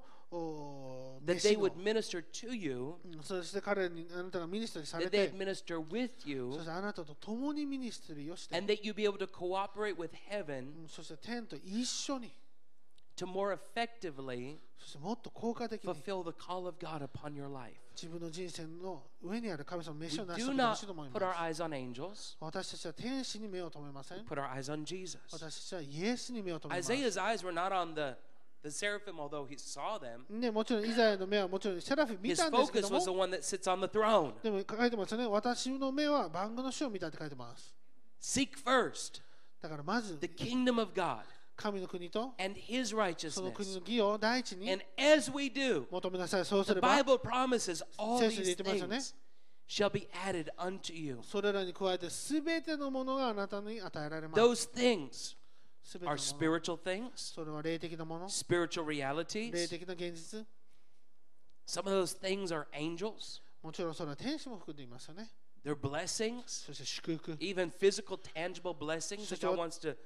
that 飯 they の would minister to you, そして彼にあなたがミニストリーされ that they'd て minister with そ you, してあなたと共にミニストリーをして and that you be able to cooperate with heaven そして天と一緒に to more effectively そしてもっと効果的に fulfill the call of God upon your life. 自分の人生の上にある神様の We 飯を成し do 遂げてほ not しいと思い put our ます eyes on angels, 私たちは天使に目を留めません put our eyes on Jesus. 私たちはイエスに目を留めます Isaiah's eyes were not on the seraphim, although he saw them. ね、もちろんイザヤの目はもちろんセラフィ見 His たんですけ focus ど was the も one that sits on the throne. でも書いてますよね私の目は万軍の主を見たって書いてます Seek first だからまず the kingdom of God 神の国と and his その国 righteousness. の義を第一に And as we do, 求めなさいそうす the れば Bible promises all 聖書で言 these ってますよね things shall be added unto you. それらに加えて全てのものがあなたに与えられます Those things 全ての are もの spiritual things, それは霊的なもの spiritual 霊 realities. 的な現実 Some of those things are angels. もちろんそれは天使も含んでいますよね They're blessings, そして祝福、 even physical, tangible blessings that God wants to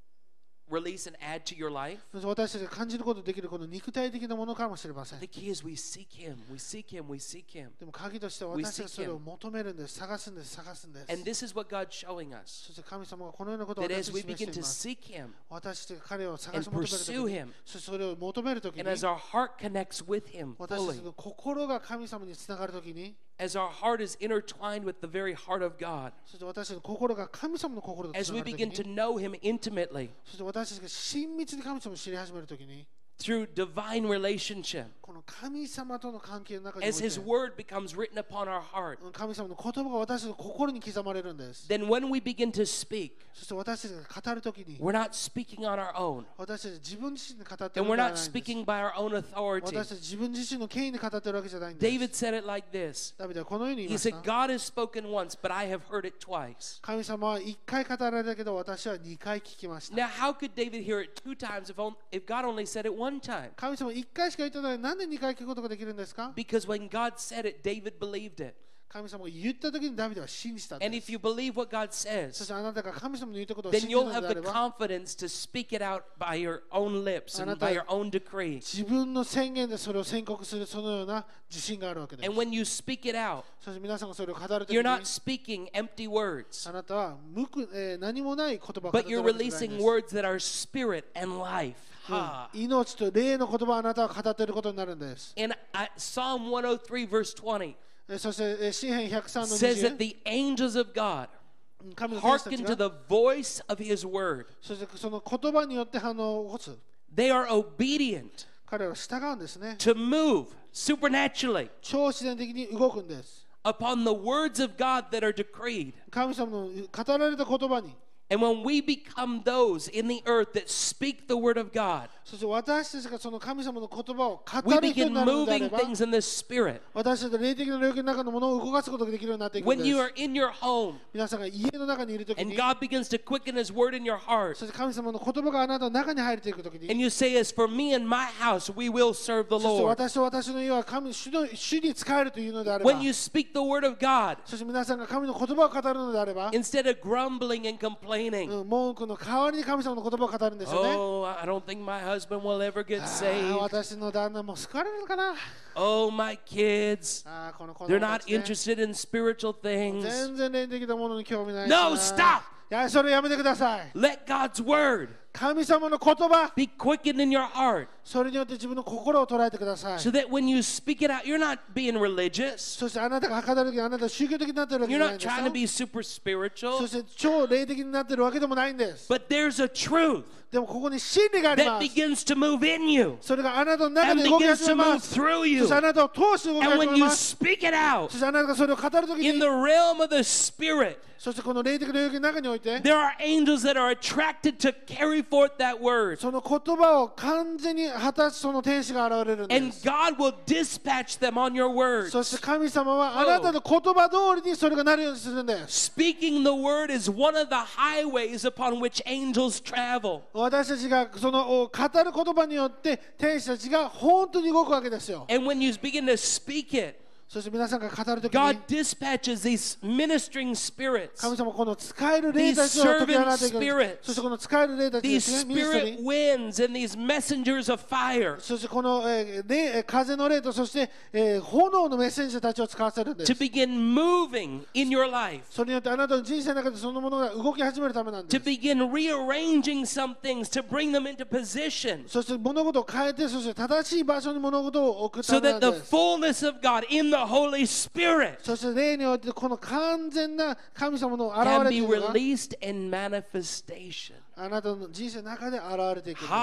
release and add to your life. そして私たちが感じることができるこの肉体的なものかもしれません。 The key is we seek Him, we seek Him, we seek Him. でも鍵としては私たちがそれを求めるんです、探すんです、探すんです。 And this is what God's showing us. そして神様がこのようなことを That 私 as たち we に示し begin てい to ます。 seek Him, 私たちが彼を探し and 求めるとき pursue に him、 そしてそれを求めるときに、 and as our heart connects with Him 私たち fully, の心が神様につながるときに、 as our heart is intertwined with the very heart of God, そして私たちの心が神様の心とつ as な we がるとき begin to に、 know Him intimately そして私たちが親密に神様を知り始めるときに、 through divine relationship, この神様との関係の中におい as て His word becomes written upon our heart, 神様の言葉が私たちの心に刻まれるんです。 then when we begin to speak, そして私たちが語るときに、 we're not speaking on our own, 私たち自分自身で語ってい and る we're のでは not ないんです。 speaking by our own authority. 私たち自分自身の権威で語っているわけじゃないんです。 David said it like this. ダビデはこのように言い He まし said, た。 God has spoken once, but I have heard it twice. 神様は1回語られたけど私は2回聞きました。 Now, how could David hear it 2 times if God only said it 1 time? 神様1回しか言ってないのになんで2回聞くことができるんですか？ Because when God said it, David believed it. 神様が言った時にダビデは信じたん And で if す。 you believe what God そし says, てあなたが神様の言ったことを then 信じる you'll の have であ the れば、 confidence to speak it out by your own lips and あなた- by your own decree. 自分の宣言でそれを宣告するそのような自信があるわけです。 And when you speak it out, そして皆さんがそれを語るときに you're not speaking empty words, あなたは何もない言葉を語っ but てい you're るわけじゃないん releasing です。 words that are spirit and life. Ha. 命と霊の言葉をあなたは語っていることになるんです。 And Psalm 103, verse 20 そして詩編103の says that 20、 the angels of God 神の天使た hearken ち to が the voice of His word. そしてその言葉によって反応を起こす。 They are obedient 彼らは従うんですね。 to move supernaturally 超自然的に動くんです。 upon the words of God that are decreed. 神様の語られた言葉に、 And when we become those in the earth that speak the word of God, そして私たちがその神様の言葉を we 語る人 begin になるのであれ moving ば、 things in the spirit. 私たちの霊的な領域の中のものを動かすことができるようになっていくん When で you す。 are in your home 皆さんが家の中にいるとき and に、 God begins to quicken His word in your heart, そして神様の言葉があなたの中に入っていくときに、 and you say, As for me and my house, we will serve the そして Lord. 私と私の家は主に仕えるというのであれば、 When you speak the word of God, そして皆さんが神の言葉を語るのであれば、 instead of grumbling and complaining, 文句の代わりに神様の言葉を語るんですよね。 oh, I don't think my husband will ever get あ saved. 私の旦那も救われるのかな。 Oh, my kids, この子 they're 供た not ちね interested in spiritual things. 全然霊的なものに興味ないし No, な。 stop! いや、それやめてください。 Let God's word 神様の言葉、 be quickened in your heart それによって自分の心を捉えてください。 so that when you speak it out, you're not being religious. そしてあなたが語るときにあなたは宗教的になっているわけじ You're ゃないん not ですよ trying to be super そ spiritual. して超霊的になっているわけでもないんです。 But there's a truth でもここに真理があり that ます。 begins to move in you それがあなたの中 and で動き begins 始 to めま move す。 through そ you. してあなたを通して動き And 始 when め you ます。 speak it out そしてあなたがそれを語るとき in に the、realm of the spirit, そしてこの霊的な領域の中において、 there are angels that are attracted to carry forth that word. その言葉を完全に果たすその天使が現れるんで And す。 God will dispatch them on your words. そして神様はあなたの言葉通りにそれがなるようにするんです。 Speaking the word is one of the highways upon which angels travel. 私たちがその語る言葉によって天使たちが本当に動くわけですよ。 And when you begin to speak it, そして皆さんが語るとき God に dispatches these ministering spirits, 神様この使える霊たちを解き放っていく。 These servant spirits. そしてこの使える霊たちで these すね、ミニストリ spirit ー。 winds, and these messengers of fire そしてこの、風の霊とそして、炎のメッセンジャーたちを使わせるんです to。begin moving in your life, それによってあなたの人生の中でそのものが動き始めるためなんで to す。 begin rearranging some things, to bring them into position, そして物事を変えて、そして正しい場所に物事を置く so ためな that ん the です。 fullness of God in the Holy Spirit そして霊においてこの完全な神様の現 can れ be というのが released in manifestation. あなたの人生の中で現れていくんです。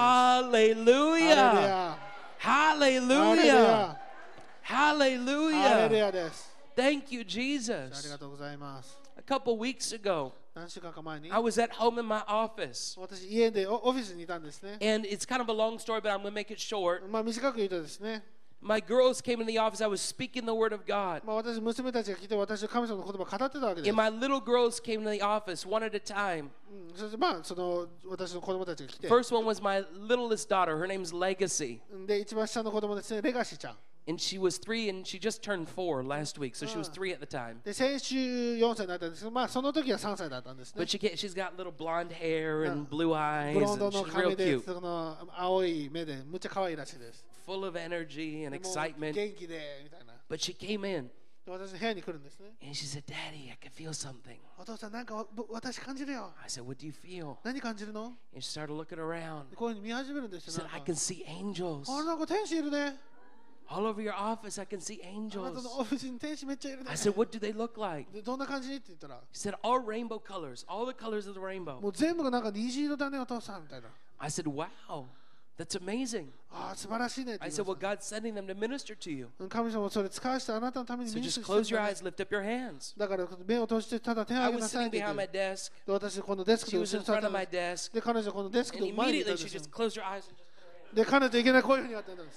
Hallelujah! ハレル Hallelujah! ヤ。ハレル Hallelujah! ヤです。 Thank you, あり Jesus. がとうございます。 A couple weeks ago, 何週間か前に I was at home in my office. 私家でオフィスにいたんですね。 And it's kind of a long story, but I'm going to make it short. 短く言うとですね、 My girls came in the office. I was speaking the word of God. 私娘たちが来て私の神様の言葉を語ってたわけです。 And my little girls came to the office one at a time. そしてその私の子供たちが来て、 First one was my littlest daughter. Her name's Legacy. で一番下の子供ですね、レガシーちゃん。 And she was 3 and she just turned 4 last week, so she was 3 at the time. で先週4歳になったんですけど、まあその時は3歳だったんですね But。she's got little blonde hair and blue eyes. ブロンド And の she's 髪 real で cute, その青い目でむっちゃ可愛いらしいです。 full of energy and でも excitement. 元気でみたいな。 But she came in で私の部屋に来るんですね。 and she said, "Daddy, I can feel something." お父さんなんか私感じるよ。 I said, "What do you feel?" 何感じるの？ And she started looking around. こういうふうに見始めるんです She よ。 said, なん "I か can see angels あ、なんか天使いるね。 all over your office. I can see あなた angels." のオフィスに天使めっちゃいるね I。said, "What do they look like?" でどんな感じって言ったら、 She said, "All rainbow colors, all the colors of the rainbow." もう全部がなんか虹色だねお父さんみたいな。 I said, "Wow, that's amazing." ああ素晴らしいねって I 言い said, ま "Well, した。 God's sending them to minister to you. 神様はそれ使わしてあなたのために So ミニス just トリー close して your るんだ eyes, ね。 lift up your hands." だから目を閉じてただ手を I 挙げ was なさいっ sitting て言 behind っ my て。 desk. で私このデスク She の was 後ろ in に座っ front た of ん my です desk. で彼女はこのデスク And の前にいた immediately んで she すよ just closed her eyes and just put her hand. で彼女いけないこういうふうにやったんです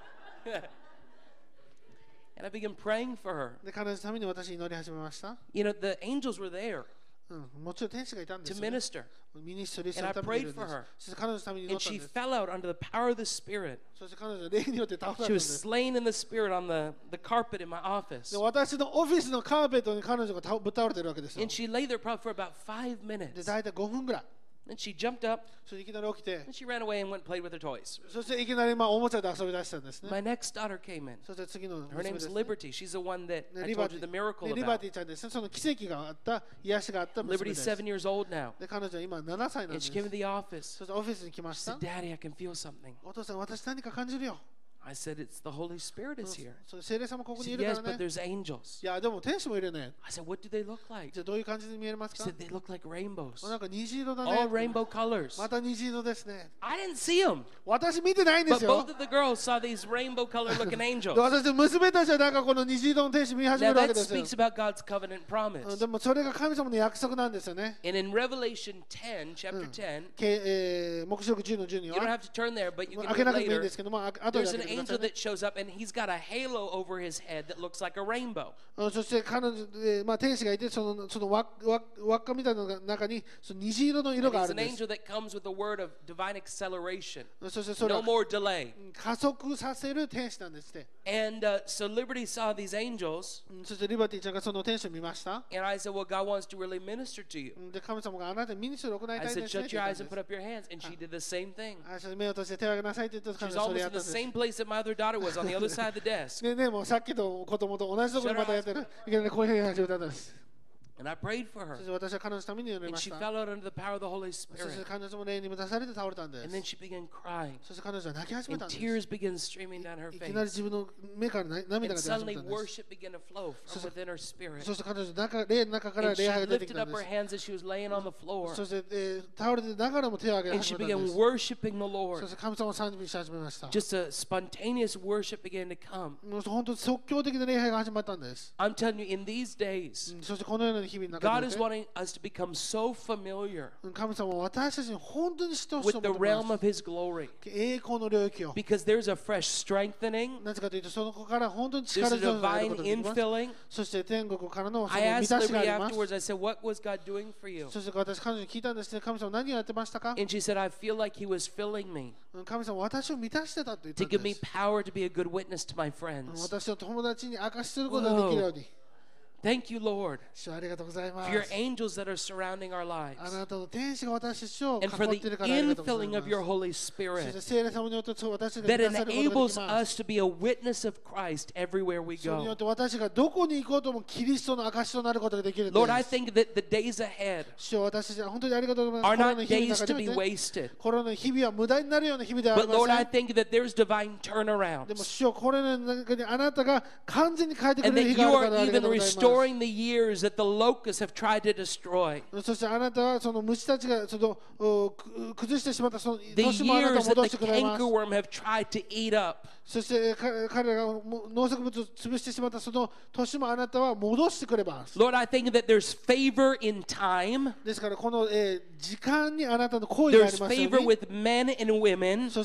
And I began praying for her. で彼女のために私祈り始めました You know, the angels were there もちろん天使がいたんで to すよ、ね、 minister. ミニストリーするためにいるんで And I prayed for her. すそして彼女のために祈 And ったん she です fell out under the power of the Spirit. そして彼女は霊によって倒された She んで was す slain in the Spirit on the carpet in my office. で私のオフィスのカーペットに彼女がぶっ倒れてるわけですよ And she lay there probably for about 5 で minutes. 大体5分ぐらい Then she jumped up それでいきなり起きて and she ran away and went and played with her toys. そしていきなりおもちゃで遊び出したんですね My next daughter came in. そして次の Her 娘で name's す、ね Liberty. She's the one that ね I リバ told テ you the ィ miracle ねリバ about. ティちゃんですねその奇跡があった癒しがあった娘 Liberty's です 7 years old now. で彼女は今7歳なん And で she す came to the office. そしてオフィスに来まし She た said, "Daddy, I can feel something." お父さん私何か感じるよ I said, "It's the Holy Spirit is here." それ聖霊様ここ She にい said, る "Yes, から but ね there's angels." いやでも天使もいるね I said, "What do they look like?" じゃあどういう感じに見えます She か said, "They look like rainbows. なんか虹色だ All ね rainbow colors." また虹色ですね I didn't see them. 私見てないんで But すよ both of the girls saw these rainbow color looking で angels. 私の娘たちはなんかこの虹色の天使見始め Now るわけ that ですよ speaks about God's covenant promise. でもそれが神様の約束なんですよね And in Revelation 10, chapter 10, 黙示録10の10に you don't は have to turn there, but you 開 can け read なくてもいいん later. ですけども後で There's 開 an けてくださ angel いね that shows up and he's got a halo over his head that looks like a rainbow. そして彼女、天使がいてその輪っかみたいなの中にその虹色の色 And があ he's るん an です angel that comes with the word of divine acceleration. そしてそれ No は more delay. 加速させる天使なんですって And so Liberty saw these angels, そしてリバティちゃんがその天使を見ました and I said, "Well, God wants to really minister to you." で神様があなたにミニストリーを行い I たいん said, ですね "Shut って言 your ったん eyes で and す put up your hands." And she did the same thing. そして目を閉じて手を挙げなさいって言った She 彼 was 女はそれ almost や in ったん the です same place that my other daughter was on the other side of the desk. ねもうさっきの子供と同じところにまたやってるいきなりこういうふうに始めたんです And I prayed for her. そして私は彼女のために祈り And ま she した fell out under the power of the Holy そして Spirit. 彼女も霊に満たされて倒れたんで And す then she began crying. そして彼女は泣き始め And たんです tears began streaming down her いきなり face. 自分の目から涙 And が出始 suddenly めたんです worship began to flow from within her spirit. そして彼女の霊の中から And 礼 she 拝が出てき lifted たん up で her す hands as she was laying on the floor. そして、倒れてながらも手を挙げ And she 始めたん began です worshiping the そ Lord. して神様を賛美し始めました Just a spontaneous worship began to come. もう本当に即興的な礼拝が始まったんです I'm telling you, in these days, そしてこのような日々の中 God で is wanting us to become so familiar 神様は私たちに本当に知ってほしい with と the 思ってい realm ま of His glory す栄光の領域を because there's a fresh strengthening, なぜかというとその子から本当に there's 力 a 強くなる divine ことができます infilling. そして天国からのそ I の満 asked たしがあ Liberty ります afterwards, I said, "What was God doing for you?" そして私彼女に聞いたんですね神様何をやってましたか And she said, "I feel like He was filling me 神様私を満たしてたと言った to ん give で me す power to be a good witness to my friends." 私の友達に証しすることができるように Thank you, Lord, 主ありがとうございま for your す angels that are surrounding our あ lives なたの天使が私たちを囲 and for っ the ているからありがとうござい infilling ま of す your Holy そして Spirit 聖霊様によって私たち that が満たされることがで enables きます us to be a witness of Christ everywhere we それによっ go. て私がどこに行こうともキリストの証となることができるんで Lord, I す think that the days ahead 主よ私たちは本当にありがとうござい are ますコロナ not の日々の days 中 to で be wasted. コロナの日々は無駄になるような日々ではあり But ま Lord, せ I ん think that there's divine で turnarounds も主よこれの中にあなたが完全に変えてく and れる that 日 you があるから are ありが even とうございます restoring the years that the locusts have tried to destroy. そしてあなたはその虫たちがその崩してしまったその The 年もあなた years を that 戻 the してくれます cankerworm have tried to eat up. そして彼らが農作物を潰してしまったその年もあなたは戻してくれます Lord, I think that there's favor in time. ですからこの、時間にあなたの行為があ There's りますよう favor に with men and women. そして、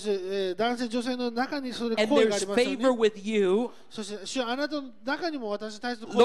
男性女性の中にそれ And 行為があ there's りますように favor with you. そして主よあなたの中にも私に対する行為 Lord, があ I りますよ thank う you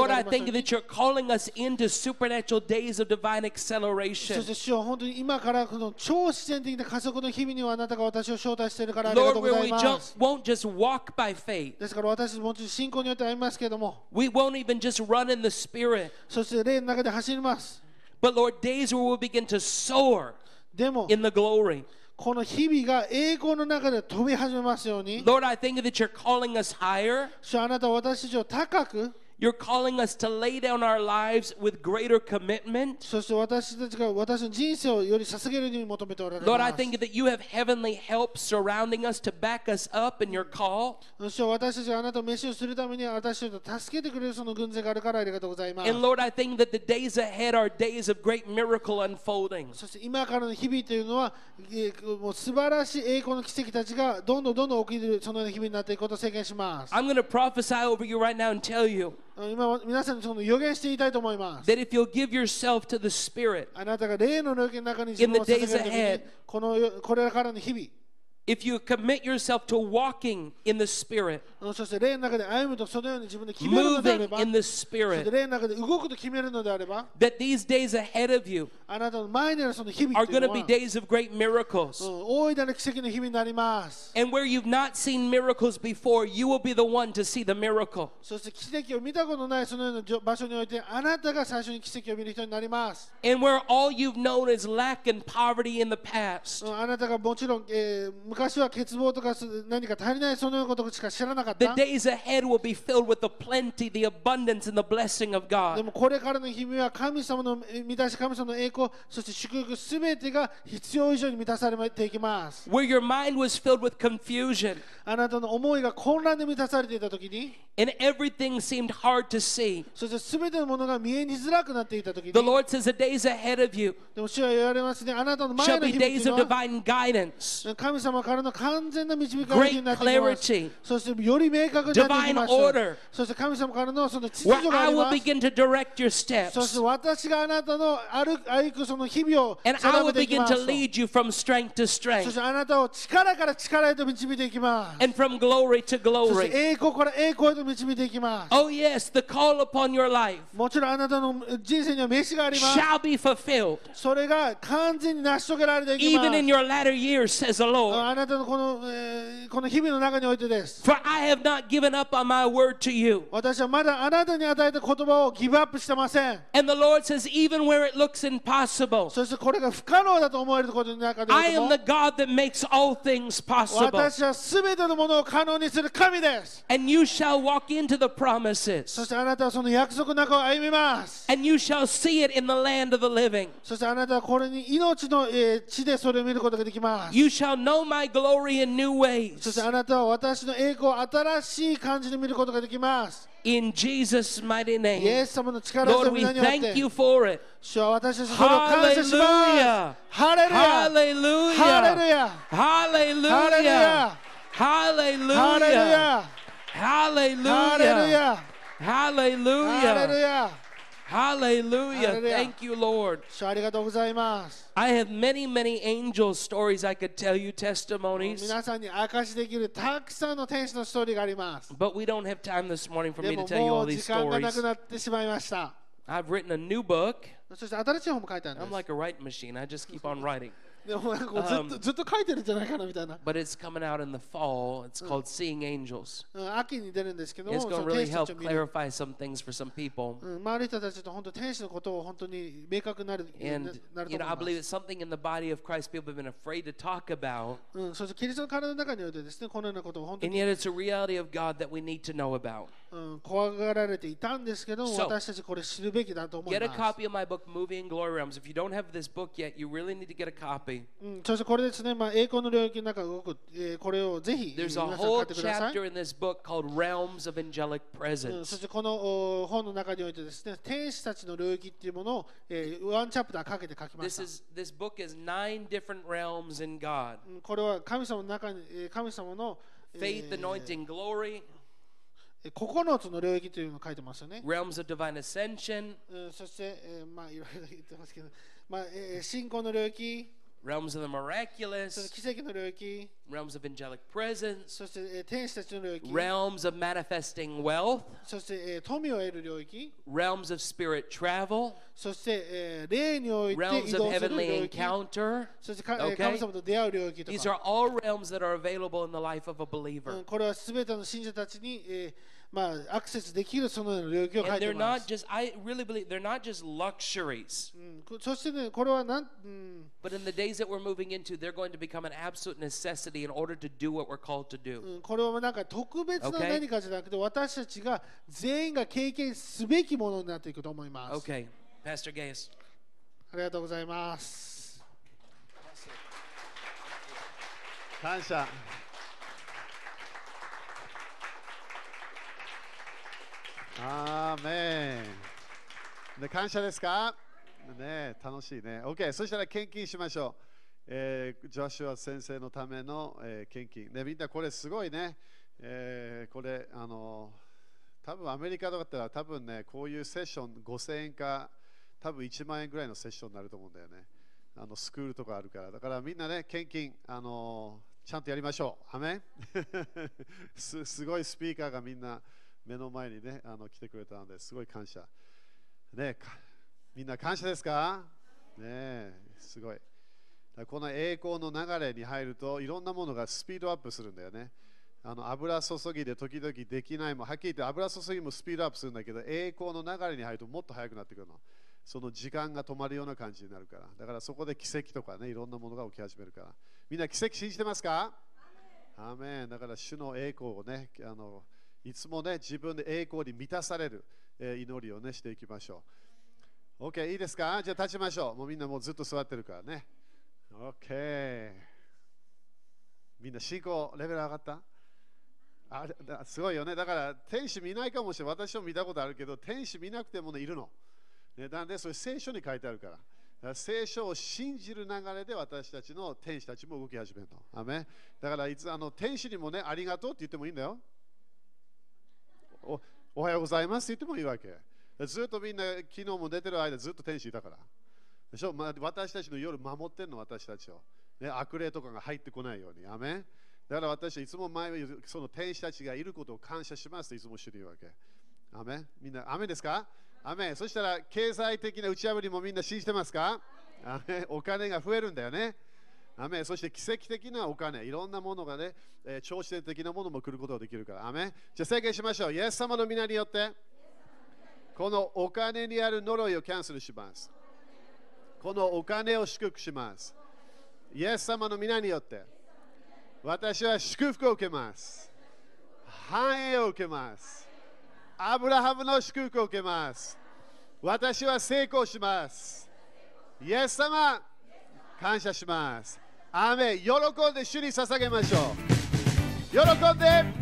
you that you're calling us into supernatural days of divine そ acceleration. して主は本当に今からこの超自然的な加速の日々にはあなたが私を招待しているからありが Lord, とうご where ざい we ま just す。 won't just walk by faith. ですから私たちもちろん信仰によって歩みますけれども、 We won't even just run in the Spirit. そして霊の中で走ります。 But Lord, days where we'll begin to soar でも in the glory. この日々が栄光の中で飛び始めますように、 Lord, I thank you that you're calling us higher. 主はあなたは私たちを高く、 You're calling us to lay down our lives with greater commitment. そして私たちが私の人生をより捧げるように求めておられ Lord, ま I す。 thank you that you have heavenly help surrounding us to back us up in your call. 主は私たちがあなたを飯をするために私たちを助けてくれるその軍勢があるからありがとうございます。 And Lord, I thank you that the days ahead are days of great miracle unfolding. そして今からの日々というのは、もう素晴らしい栄光の奇跡たちがどんどん起きるそのような日々になっていくことを宣言します。 I'm going to prophesy over you right now and tell you 今皆さんにその予言して言いたいと思います。 that if you'll give yourself to the Spirit, あなたが霊の領域の中に自分を捧げるとき In the days に、これからの日々、 if you commit yourself to walking in the Spirit, そして霊の中で歩むとそのように自分で決めるのであれ moving ば、 in the そして Spirit, 霊の中で動くと決めるのであれば、 that these days ahead of you あなたの前にあるその日々 are という going の to は be days of great miracles. 大いなる奇跡の日々になります。 And where you've not seen miracles before, you will be the one to see the miracle. そして奇跡を見たことないそのような場所においてあなたが最初に奇跡を見る人になります。 And where all you've known is lack and poverty in the past, あなたがもちろん、昔は欠乏とか何か足りないそのようなことしか知らなかっ the た。 days ahead will be filled with the plenty, the abundance, and the blessing of で God. もこれからの日々は神様の満たし、神様の栄光、そして祝福すべてが必要以上に満たされていきます。 Where your mind was filled with confusion あなたの思いが混乱で満たされていたときに、 and everything seemed hard to see, そしてすべてのものが見えにづらくなっていたときに、 the Lord says the days ahead of you でも主は言われますね、あなたの前 shall の be 日々とい days う of のは divine guidance, 神様からの完全な導かれる日になっていきま great す。 clarity, そしてより明確になっていきま divine order す。そして神様からのその秩 where 序があ I り will ます。 begin to direct your そして steps, 私があなたの歩くその日々を and I 定 will めていき begin ます to と。 lead you from strength to そ strength してあなたを力から力へと導いていきます。 and from glory to そし glory. て栄光から栄光へと導いていきます。 Oh, yes, the call upon your life もちろんあなたの人生には飯があります。 shall be fulfilled, それが完全に成し遂げられていきます。 even in your latter years, says the Lord. あなたのこの日々の中においてです。 For I have not given up on my word to you. 私はまだあなたに与えた言葉をギブアップしてません。 And the Lord says, even where it looks impossible, そしてこれが不可能だと思えることの中で I も am the God that makes all things possible. 私は全てのものを可能にする神です。 And you shall walk into the そ promises, してあなたはその約束の中を歩みます。 and you shall see it in the land of the living. そしてあなたはこれに命の地でそれを見ることができます。 You shall know my glory in new そして ways. あなたは私の栄光を新しい感じで見ることができます。 In Jesus' mighty イエ name. ス様の力強 Lord, い we 皆によっ thank て you for it. 主は私たちのそれを感謝します。 Hallelujah. ハレルヤハレル Hallelujah. ヤハレル Hallelujah. ヤハレル Hallelujah. ヤハレル Hallelujah. ヤハレル Hallelujah. ヤ Hallelujah. Hallelujah. Thank you, Lord. 主ありがとうございます。 I have many, many angel stories I could tell you, testimonies, 皆さんに明かしできるたくさんの天使のストーリーがあります。 but we don't have time this morning for で me to も tell you も all う these 時間がな stories. くなってしまいました。 I've written a new book. そして新しい本も書いてあるん I'm です。 like a writing machine. I just keep on writing. でもなんかずっと書いてるんじゃないかなみたいな。 But it's coming out in the fall. It's called Seeing Angels. 秋に出るんですけども、 It's そ going の to 天 really 使た help ちを見る。 clarify some things for some people. 周りの人たちと本当天使のことを本当に明確になる And, なると you know, I 思 believe いま it's す。 something in the body of Christ people have been afraid to talk about. そしてキリストの体の中においてですね、このようなことを本当 And に、 yet it's a reality of God that we need to know about. 怖がられていたんですけども、 So, 私たちこれ知るべきだと思い Get a ます。 copy of my book, Moving in Glory Realms. If you don't have this book yet, you really need to get a copy. そしてこれですね、栄光の領域の中動く、これをぜひ皆 There's さ a ん買 whole ってください。 chapter in this book called Realms of Angelic そ Presence. してこの本の中においてですね、天使たちの領域っていうものを、ワンチャプターかけて書きました。 This book is 9 different realms in God. これは神様の中に、神様の、 Faith, anointing, glory, 9つの領域というのを書いてますよね。 realms of divine ascension, そして、まあいろいろ言ってますけど、まあ信仰の領域、 realms of the その miraculous, 奇跡の領域、 realms of angelic presence, そして天使たちの領域、 realms of manifesting wealth, そして富を得る領域、 realms of spirit travel, そして霊において realms 移 of 動する heavenly 領域、 encounter. そして Okay. 神様と出会う領域と These か、 are all realms that are available in the life of a believer. これはすべての信者たちに、アクセスできるそのような領域を書い And て they're いま not す。 just, I really believe, they're not just luxuries. そしてね、これは But in the days that we're moving into, they're going to become an absolute necessity in order to do what we're called to do. これはなんか特別な Okay. 何かじゃなくて、私たちが全員が経験すべきものになっていくと思います。 Okay, Pastor Gaius. ありがとうございます。 感謝。アーメン。で感謝ですかね、楽しいね。OK、そしたら献金しましょう。ジョシュア先生のための、献金。ね、みんなこれすごいね。これ、多分アメリカとかだったら多分ね、こういうセッション5000円か、多分1万円ぐらいのセッションになると思うんだよね。スクールとかあるから。だからみんなね、献金、ちゃんとやりましょう。アメンすごいスピーカーがみんな目の前にね、来てくれたのですごい感謝。ね、みんな感謝ですかね、すごい。この栄光の流れに入るといろんなものがスピードアップするんだよね。油注ぎで時々できないもはっきり言って油注ぎもスピードアップするんだけど栄光の流れに入るともっと速くなってくるの。その時間が止まるような感じになるから。だからそこで奇跡とかねいろんなものが起き始めるから。みんな奇跡信じてますか？アーメン。だから主の栄光をねいつもね自分で栄光に満たされる、祈りをねしていきましょう。OK いいですか？じゃあ立ちましょう。もうみんなもうずっと座ってるからね。OK みんな信仰レベル上がった？すごいよね。だから天使見ないかもしれない。私も見たことあるけど天使見なくても、ね、いるの、ね、なのでそれ聖書に書いてあるから。だから聖書を信じる流れで私たちの天使たちも動き始めるの。アメン。だからいつ天使にもねありがとうって言ってもいいんだよ。おはようございますって言ってもいいわけ。ずっとみんな昨日も出てる間ずっと天使いたからでしょ、私たちの夜守ってるの私たちを、ね、悪霊とかが入ってこないように。アメン。だから私はいつも前その天使たちがいることを感謝しますといつも知るわけ。アメン。みんなアメンですか？アメン。そしたら経済的な打ち破りもみんな信じてますか？アメン。お金が増えるんだよね。アメン。そして奇跡的なお金、いろんなものがね、超自然的なものも来ることができるから。アメン。じゃあ宣言しましょう。イエス様の皆によってこのお金にある呪いをキャンセルします。このお金を祝福します。イエス様の皆によって私は祝福を受けます。繁栄を受けます。アブラハムの祝福を受けます。私は成功します。イエス様、感謝します。アーメン。喜んで主に捧げましょう。喜んで